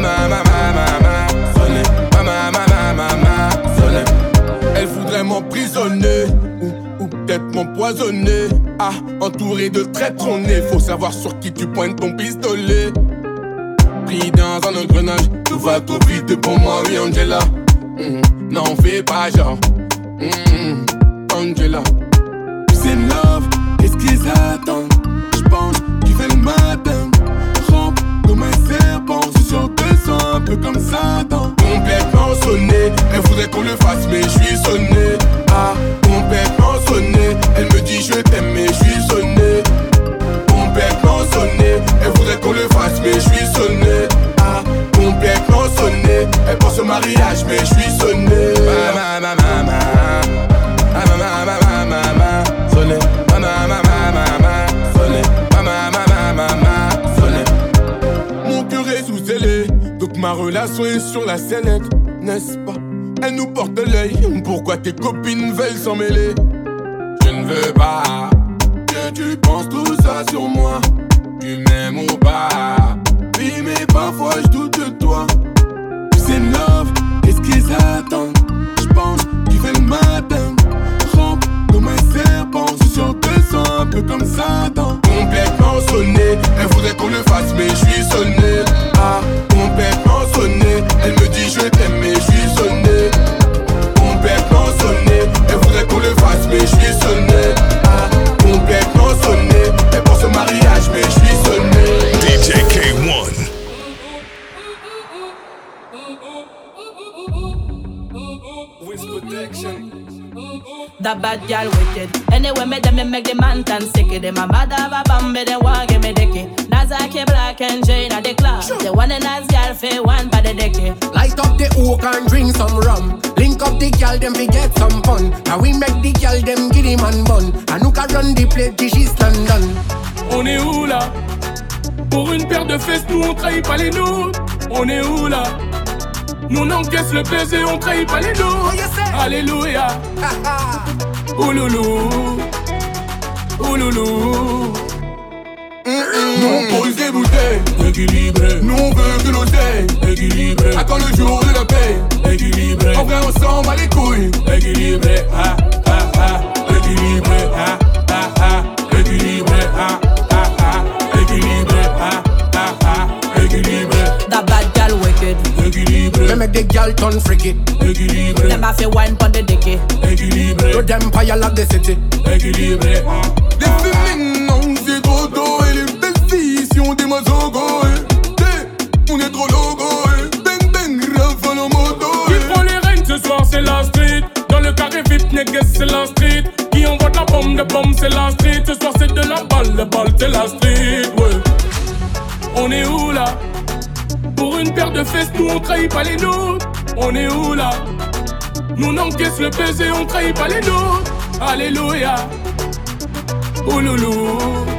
sonné. Elle voudrait m'emprisonner ou peut-être m'empoisonner. Entouré de traîtres on est. Faut savoir sur qui tu pointes ton pistolet. Pris dans un engrenage, tout va trop vite pour moi, oui Angela. N'en fais pas genre. Angela. C'est love, qu'est-ce qu'ils attendent? J'pense tu fais le matin. Rampe comme un serpent, je suis sur 200, un peu comme Satan. Complètement sonné, elle voudrait qu'on le fasse, mais je suis sonné. Complètement sonné, elle me dit je t'aime, mais je suis sonné. Complètement sonné, elle voudrait qu'on le fasse, mais je suis sonné. Complètement sonné, elle pense au mariage, mais je suis sonné. Sonné, sonné. Mon cœur est sous scellé, donc ma relation est sur la sellette, n'est-ce pas? Elle nous porte l'œil, pourquoi tes copines veulent s'en mêler? Je ne veux pas que tu penses tout ça sur moi. Tu m'aimes ou pas? Oui mais parfois je doute de toi. C'est love, qu'est-ce qu'ils attendent? That bad girl wicked. Anyway, me them make the man tan sicky. Them a mad have a bambi, they want give me dicky. Nazaki Black and Jane at the club. The one and as girl for one by the dicky. Light up the oak and drink some rum. Link up the girl, them we get some fun. And we make the girl, them give him and bun. And who can run the plate, this is stand done. On est où là? Pour une paire de fesses, nous on trahit pas les nôtres. On est où là? Nous on encaisse le baiser, on trahit pas les nôtres. Alléluia. Ouloulou. Ouloulou. Nous on pose des bouteilles, équilibré. Nous on veut que l'oseille, équilibré. Attends le jour de la paix, équilibré. En vrai on s'en bat les couilles, équilibré. Ah ah ah, équilibré. Ah ah ah, équilibré. Ah ah ah, équilibré. Ah ah ah, équilibré. That bad girl wicked. Équilibré. They make the girl turn freaky. Équilibré. Them have to wine pon the dicky. Équilibré. To them empire like the city. Équilibré. Les féminines, non c'est trop tôt. Et les belles filles si on dit mazogo. On est trop logo. Bang bang, rafale en moto. Qui prend les rênes ce soir c'est la street. Dans le carré VIP, niggas c'est la street. Qui envoie de la bombe c'est la street. Ce soir c'est de la balle c'est la street. Ouais. On est où là? Pour une paire de fesses, nous on trahit pas les nôtres. On est où là? Nous on encaisse le baiser, on trahit pas les nôtres. Alléluia. Ouloulou.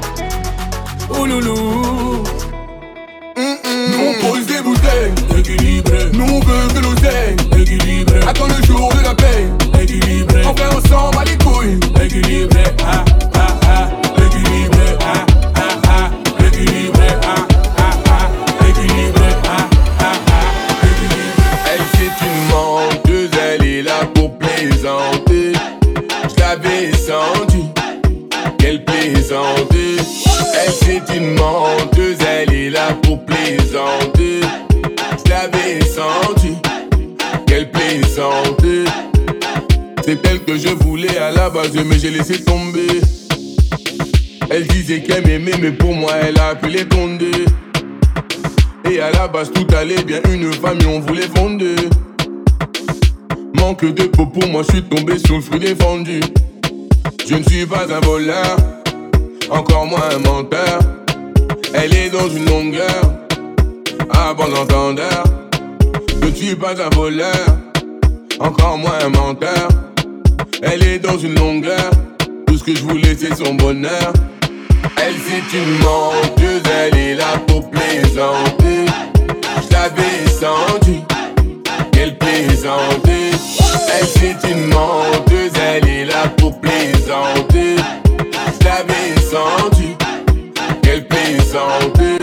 Ouloulou. Nous on pose des bouteilles, équilibré. Nous on veut que l'oseille, équilibré. Attends le jour de la paix, équilibré. En vrai on s'en bat les couilles, équilibré. Ah ah ah, équilibré. Ah ah ah, équilibré. Ah ah ah, équilibré. Ah ah ah, équilibré. Elle c'est une menteuse, elle est là pour plaisanter. Je l'avais senti, qu'elle plaisantait. Elle c'est une menteuse, elle est là pour plaisanter. Je l'avais senti, qu'elle plaisantait. C'est elle que je voulais à la base, mais j'ai laissé tomber. Elle disait qu'elle m'aimait, mais pour moi elle a pu les tonder. Et à la base tout allait bien, une famille on voulait fonder. Manque de peau pour moi, je suis tombé sur le fruit défendu. Je ne suis pas un voleur, encore moins un menteur. Elle est dans une longueur, à bon entendeur. Je ne suis pas un voleur, encore moins un menteur. Elle est dans une longueur, tout ce que je voulais c'est son bonheur. Elle c'est une menteuse, elle est là pour plaisanter. Je l'avais senti, qu'elle plaisantait. Elle c'est une menteuse, elle est là pour plaisanter. Je l'avais senti, qu'elle plaisantait.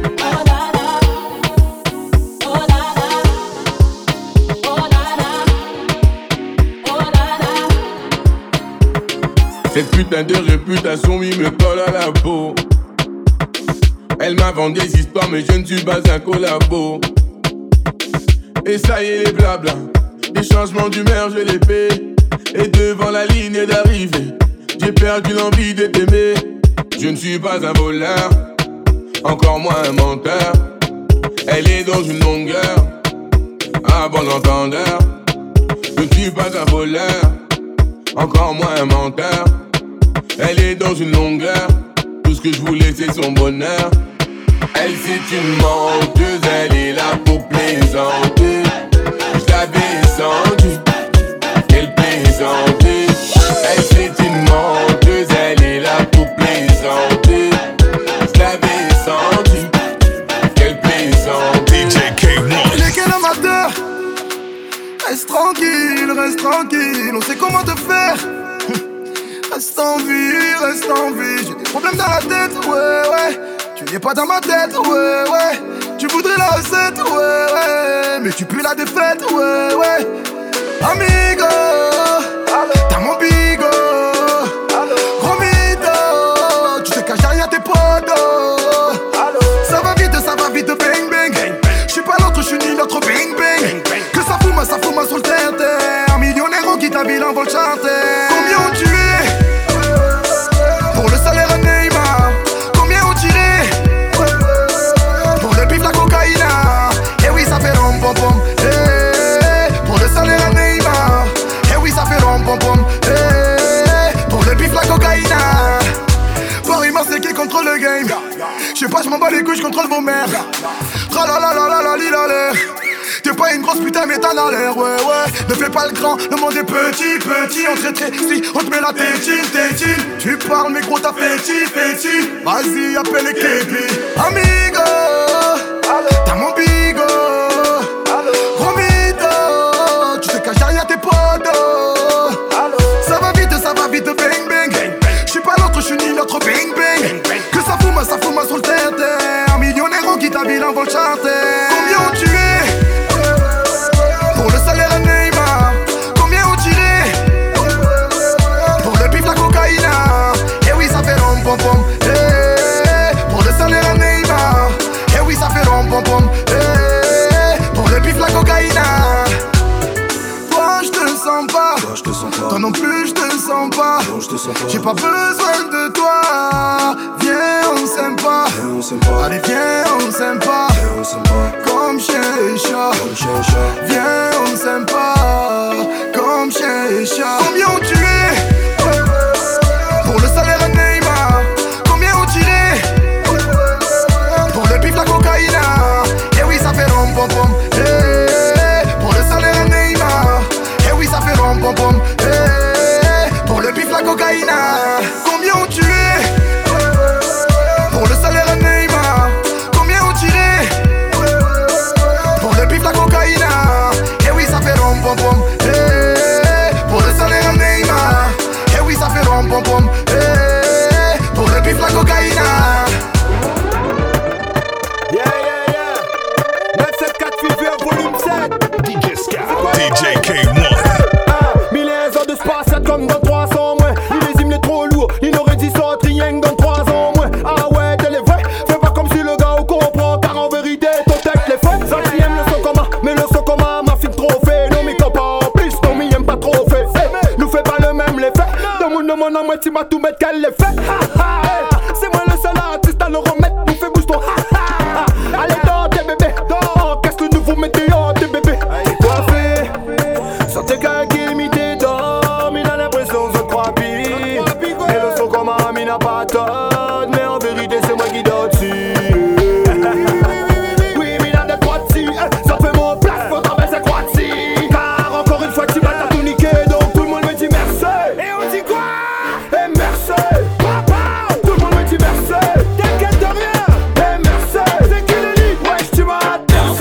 Cette putain de réputation, il me colle à la peau. Elle m'a vendu des histoires, mais je ne suis pas un collabo. Et ça y est, les blabla, les changements d'humeur, je les paie. Et devant la ligne d'arrivée, j'ai perdu l'envie de t'aimer. Je ne suis pas un voleur, encore moins un menteur. Elle est dans une longueur, à bon entendeur. Je ne suis pas un voleur, encore moins un menteur. Elle est dans une longueur, tout ce que je voulais c'est son bonheur. Elle c'est une menteuse, elle est là pour plaisanter. Je l'avais senti, qu'elle plaisantait. Elle c'est une menteuse, elle est là pour plaisanter. Je l'avais senti, qu'elle plaisantait. DJ K1. Il est quel amateur? Reste tranquille, on sait comment te faire. Reste en vie, j'ai des problèmes dans la tête, ouais. Tu n'es pas dans ma tête, ouais. Tu voudrais la recette, ouais. Mais tu pues la défaite, ouais. Amigo, t'as mon bigo. Gros mytho, tu te caches derrière tes potos. Ça va vite, bang bang. J'suis pas l'autre, j'suis ni l'autre, bang bang. Que ça fout moi sur le terre. Un millionnaire en quitte la ville en vol chanter. Combien ont tué pour le salaire à Neymar? Combien ont tiré pour le bif, la cocaïna? Eh oui, ça fait rom pom pom. Pour le salaire à Neymar. couilles, je contrôle vos mères. Tralalalala. T'es pas une grosse putain mais t'en as l'air, ouais. Ne fais pas le grand, le monde est petit. On te traite, si on te met la tétine. Tu parles mais gros t'as féti. Vas-y appelle les képis. Amigo, t'as mon bigo. Gros mytho, tu te caches derrière tes potos. Ça va vite, bang. J'suis pas l'autre, j'suis ni l'autre, bang. Que ça fout moi sur le terre. Un millionnaire en qui ta ville en vol chanter. Combien ont tué? Pour le salaire à Neymar. Combien ont tiré? Pour le bif, la cocaïne. Eh oui, ça fait rom-pom-pom. Pour le salaire à Neymar. Eh oui, ça fait rom-pom-pom. Pour le bif, la cocaïne. Toi, je te sens pas. Toi non plus, je te sens pas. J'ai pas besoin de toi. Viens, on s'aime pas. Allez, viens, on s'aime pas. Comme chien et chat. Viens, on s'aime pas. Comme chien et chat. Combien ont tué? Pour le salaire à Neymar. Combien ont tiré? Pour le bif, la cocaïne. Eh oui, ça fait rom-pom-pom. Pour le salaire à Neymar. Eh oui, ça fait rom-pom-pom. Pour le bif, la cocaïne. Combien ont tué? Pour le salaire à Neymar. Combien ont tiré? Pour le bif, la cocaïne. Eh oui, ça fait rom-pom-pom. Pour le salaire à Neymar. Eh oui, ça fait rom-pom-pom. Pour le bif, la cocaïne. Yeah. 974 Fever volume 7. DJ K1. Milliers de spatial comme dans 300 moins. Illésime les trop lourd, il aurait dit ça rien dans 3 ans moins. Ah ouais, t'es les vrais, fais pas comme si le gars au comprend. Car en vérité, ton texte les fait. Ça qui aime le son commun, mais le son commun m'a fait trop fait. Non, mes copains en plus, non, mais aime pas trop fait. Nous fais pas le même l'effet. Dans mon nom, en moi, tu m'as tout mettre qu'elle l'effet. C'est moi le seul artiste à le remettre. Nous fais bouge ton allez, dans tes bébés, dans qu'est-ce que nous vous mettez en tes bébés. Coiffé, sur tes cailles qui imité d'homme, il a l'impression de se croire pire. Et le son comme un il n'a pas tort, mais en vérité c'est moi qui dors dessus. Oui, mais il a des trois dessus, ça fait mon place, faut traverser quoi dessus. Car encore une fois tu vas t'as tout niqué, donc tout le monde me dit merci. Et on dit quoi? Et merci. Tout le monde me dit merci. T'inquiète de rien. Et merci. C'est qui le lit? Wesh tu m'as merci.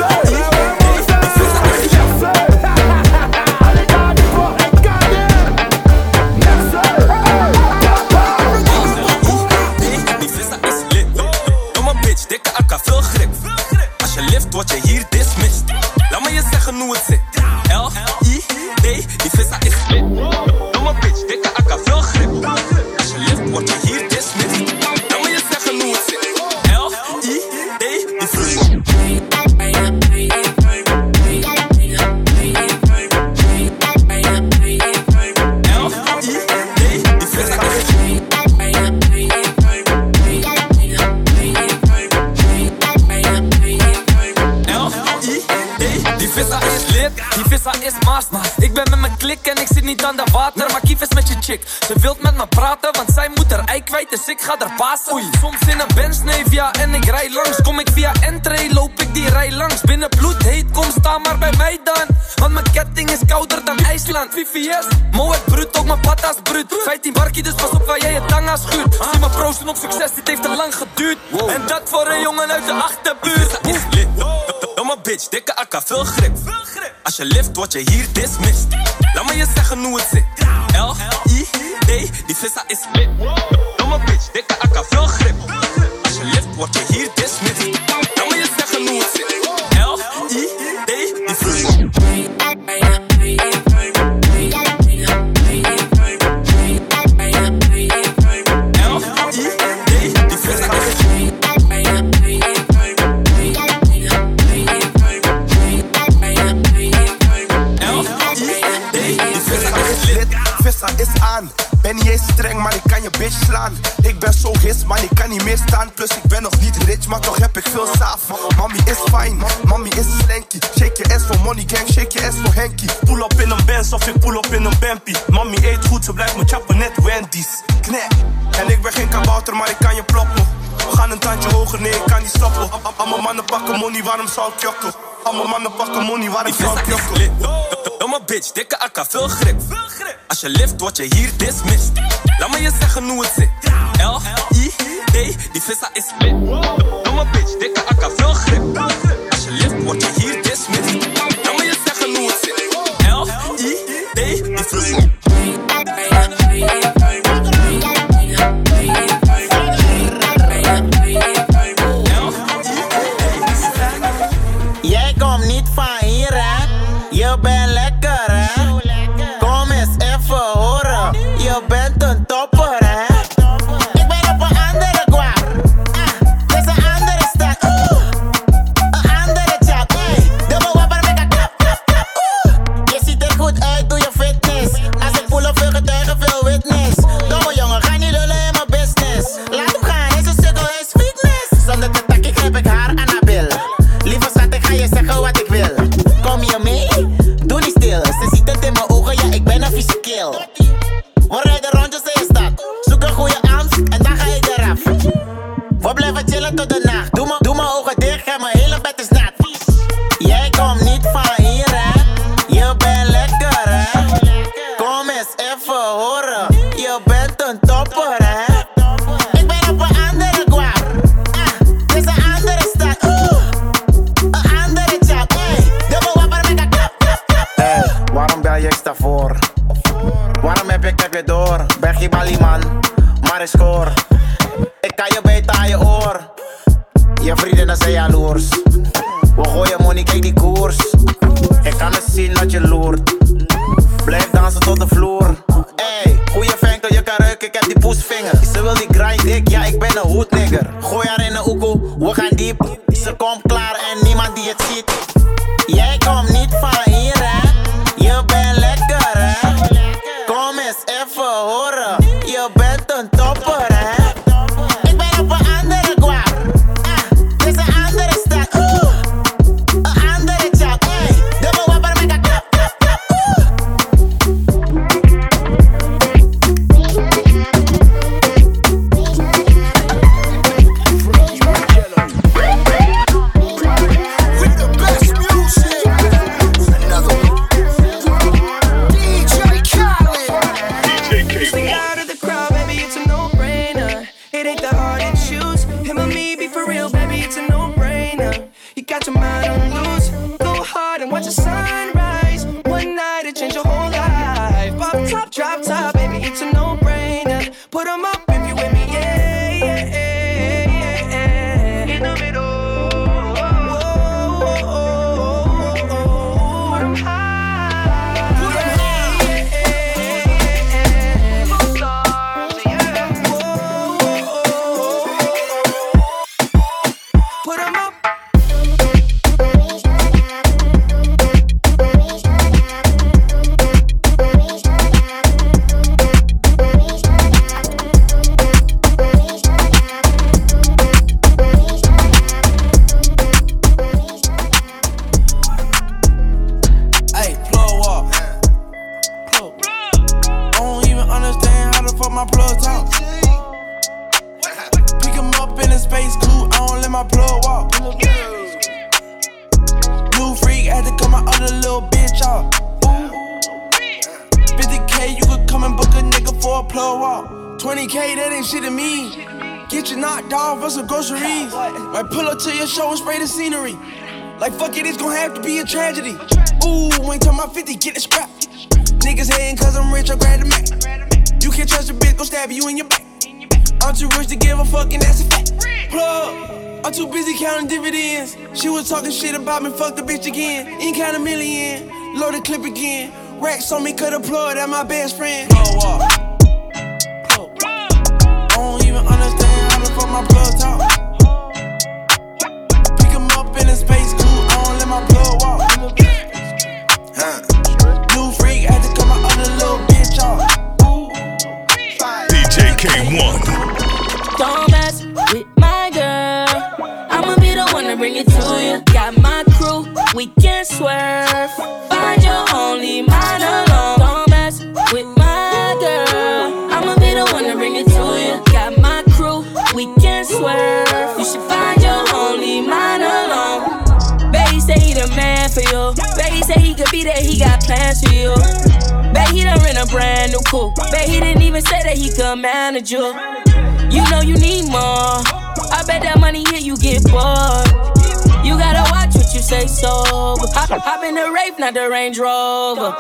Allez garde toi, regardez. Merci. Die vissa is lit. Domme bitch, dikke akka, veel grip. Als je lift, word je hier dismissed. Laat me je zeggen hoe het zit. L-I-D, die vissa is lit. Domme bitch, dikke akka, veel grip. Als je lift, word je hier dismissed. Laat me je zeggen hoe het zit. L-I-D, die vissa. Die vissa is lit, die vissa is master. Ik ben met mijn klik en ik zit niet aan de water. Maar Kief is met je chick, ze wilt met me praten. Want zij moet haar ei kwijt, dus ik ga haar passen. Oei, soms in een Benz, nee, via en ik rij langs. Kom ik via entree, loop ik die rij langs. Binnen bloed heet, kom sta maar bij mij dan. Want mijn ketting is kouder dan IJsland. VVS, Moet bruut, ook mijn patas bruut. 15 barkie, dus pas op waar jij je tanga schuurt. Zie me proosten op succes, dit heeft te lang geduurd. En dat voor een jongen uit de achterbuurt. Is lit, domme bitch, dikke akka, veel grip. Als je lift, word je hier dismissed. Laat me je zeggen hoe het zit. L-I-D, die vissa is lit. Domme bitch, dikke akka, veel grip. Als je lift, word je hier dismissed. Laat me je zeggen hoe het zit. L-I-D, die vissa. Vissa is aan, ben niet eens streng, maar ik kan je bitch slaan. Ik ben zo his, maar ik kan niet meer staan. Plus ik ben nog niet rich, maar toch heb ik veel saaf. Mommy is fine, mommy is slanky. Shake je ass voor money gang, shake je ass voor Henky. Pull op in een Benz of ik pull op in een Bempie. Mommy eet goed, ze blijft me chappen net Wendy's. Knek, en ik ben geen kabouter, maar ik kan je ploppen. We gaan een tandje hoger, nee, ik kan niet stoppen. Allemaal mannen pakken money, waarom zou ik jokken? Allemaal mannen pakken money, waarom zou ik jokken? Domme bitch, dikke akka, veel grip. Als je lift, word je hier dismissed. Laat me je zeggen hoe het zit. L-I-D, die vissa is lit. Domme bitch, dikke akka, veel grip. Als je lift, word je hier dismissed. Laat me je zeggen hoe het zit. L-I-D, die vissa. Jij komt niet van hier, hè? Je bent lekker, hè? Kom eens even horen. Je bent een topper, hè? Ik ben op een andere kwak. Dit is een andere stad. Een andere chat. Dubbel wapper met een klap, klap, klap. Je ziet er goed uit, doe je fitness. Als ik voel op veel getuigen, veel witness. Domme jongen, ga niet lullen in mijn business. Laat hem gaan, is een sukkel, is weakness. Zonder te takken grijp ik haar aan haar bil. Lieve schat, ik ga je zeggen wat ik wil. Kom je mee? Doe niet stil. Ze ziet het in mijn ogen, ja, ik ben een vieze kill. We rijden rondjes in je stad. Zoek een goede angst en dan ga ik eraf. We blijven chillen tot de nacht. Doe mijn ogen dicht en mijn hele bed is nat. Jij komt niet van hier, hè? Je bent lekker, hè? Kom eens even horen. Je bent een topper, hè? Ik ben op een andere kwak. Dit is een andere stad. Een andere chat. Dubbel wapper met een klap, klap, klap. Waarom bel je extra voor? Waarom heb je door? Ben geen balieman, maar ik score. Ik kan je beter aan je oor. Je vrienden zijn jaloers. We gooien money, kijk die koers. Ik kan het zien dat je loert. Blijf dansen tot de vloer. Ey, goeie venkel, je kan ruiken, ik heb die poesvinger. Ze wil die grind dik, ja ik ben een hoednigger. Gooi haar in de oekoe, we gaan diep. Ze komt klaar en niemand die het ziet. Jij komt niet van hier, hè? Je bent lekker, hè? Kom eens even horen. Je bent een topper, hè? Ik ben op een andere kwak. Dit is een andere stad. Een andere chat. Dubbel wapper met een klap, klap, klap. With the best music. Another one. DJ Khaled. Swing out of the crowd, baby, it's a no-brainer. It ain't that hard to choose. Him or me, be for real, baby, it's a no-brainer. You got your mind on loose. Go hard and watch the sunrise. One night, it change your whole life. Pop top, drop top, baby, it's a no-brainer. Put 'em up if you with me, yeah, yeah, yeah, yeah. In the middle. Put 'em high. Put 'em high. Put 'em up. Hey, plug walk. I don't even understand how the fuck my plug talk. Pick him up in a space coupe, I don't let my plug walk. New freak had to cut my other little bitch off. 50K, you could come and book a nigga for a plug walk. 20K, that ain't shit to me. Get you knocked off for some groceries. Might pull up to your show and spray the scenery. Like fuck it, it's gon' have to be a tragedy. Ooh, ain't talking about 50, get it scrap. Niggas hating cause I'm rich, I grab the Mac. You can't trust a bitch, gon' stab you in your back. I'm too rich to give a fuck and that's a fact. Plug, I'm too busy counting dividends. She was talking shit about me, fuck the bitch again. Ain't count a million, load the clip again. Racks on me, cut a plug, that my best friend. Plug walk. I don't even understand how the fuck my plug talk. Pick him up in a space coupe, I don't let my plug walk. New freak, had to cut my other little bitch off. DJ K1. Don't mess with my girl. I'ma be the one to bring it to you. Got my crew, we can swerve. Find your only mind alone. Don't mess with my girl. I'ma be the one to bring it to you. Got my crew, we can swerve. for you. Bet he said he could be there, he got plans for you. Bet he done rent a brand new coupe. Bet he didn't even say that he could manage you. You know you need more. I bet that money here you get bored. You gotta watch what you say sober. Hop in the Wraith, not the Range Rover.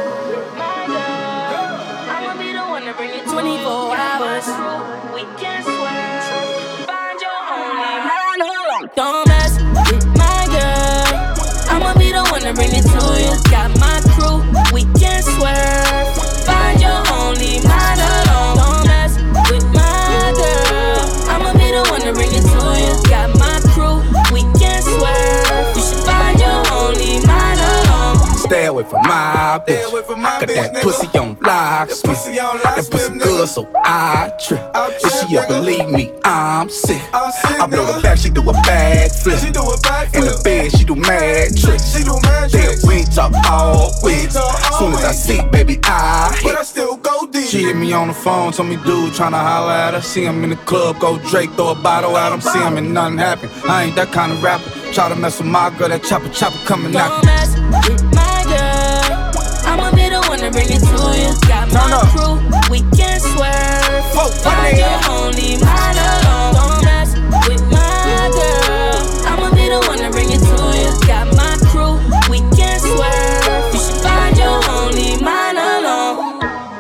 I'ma be the one to bring it 24 hours. We can swear. Find your only man. Don't mess with my girl. I'ma be the one to bring it to you. Got my crew, we can swerve. Find your only man alone. Don't mess with my girl. I'ma be the one to bring it to you. Got my crew, we can swerve. You should find your only man alone. Stay away from my bitch. Got that pussy on lock. That pussy good, so I trip. If she ever leave me, I'm sick. I blow the back, she do a bag flip. In the bed, she do mad tricks. Then we talk all week. Soon as I see, baby, I hit. But I still go deep. She hit me on the phone, told me dude tryna holler at her. See him in the club, go Drake, throw a bottle at him. See him and nothing happen. I ain't that kind of rapper. Try to mess with my girl, that chopper coming out. Don't mess with my girl. I'ma be the one to bring it to you. Got my crew, we can swerve. Find your only man alone. Don't mess with my girl. I'ma be the one to bring it to you. Got my crew, we can swerve. You should find your only man alone.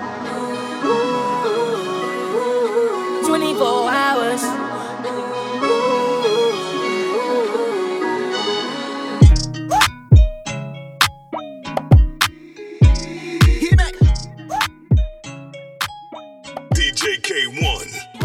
24 hours. DJ K1.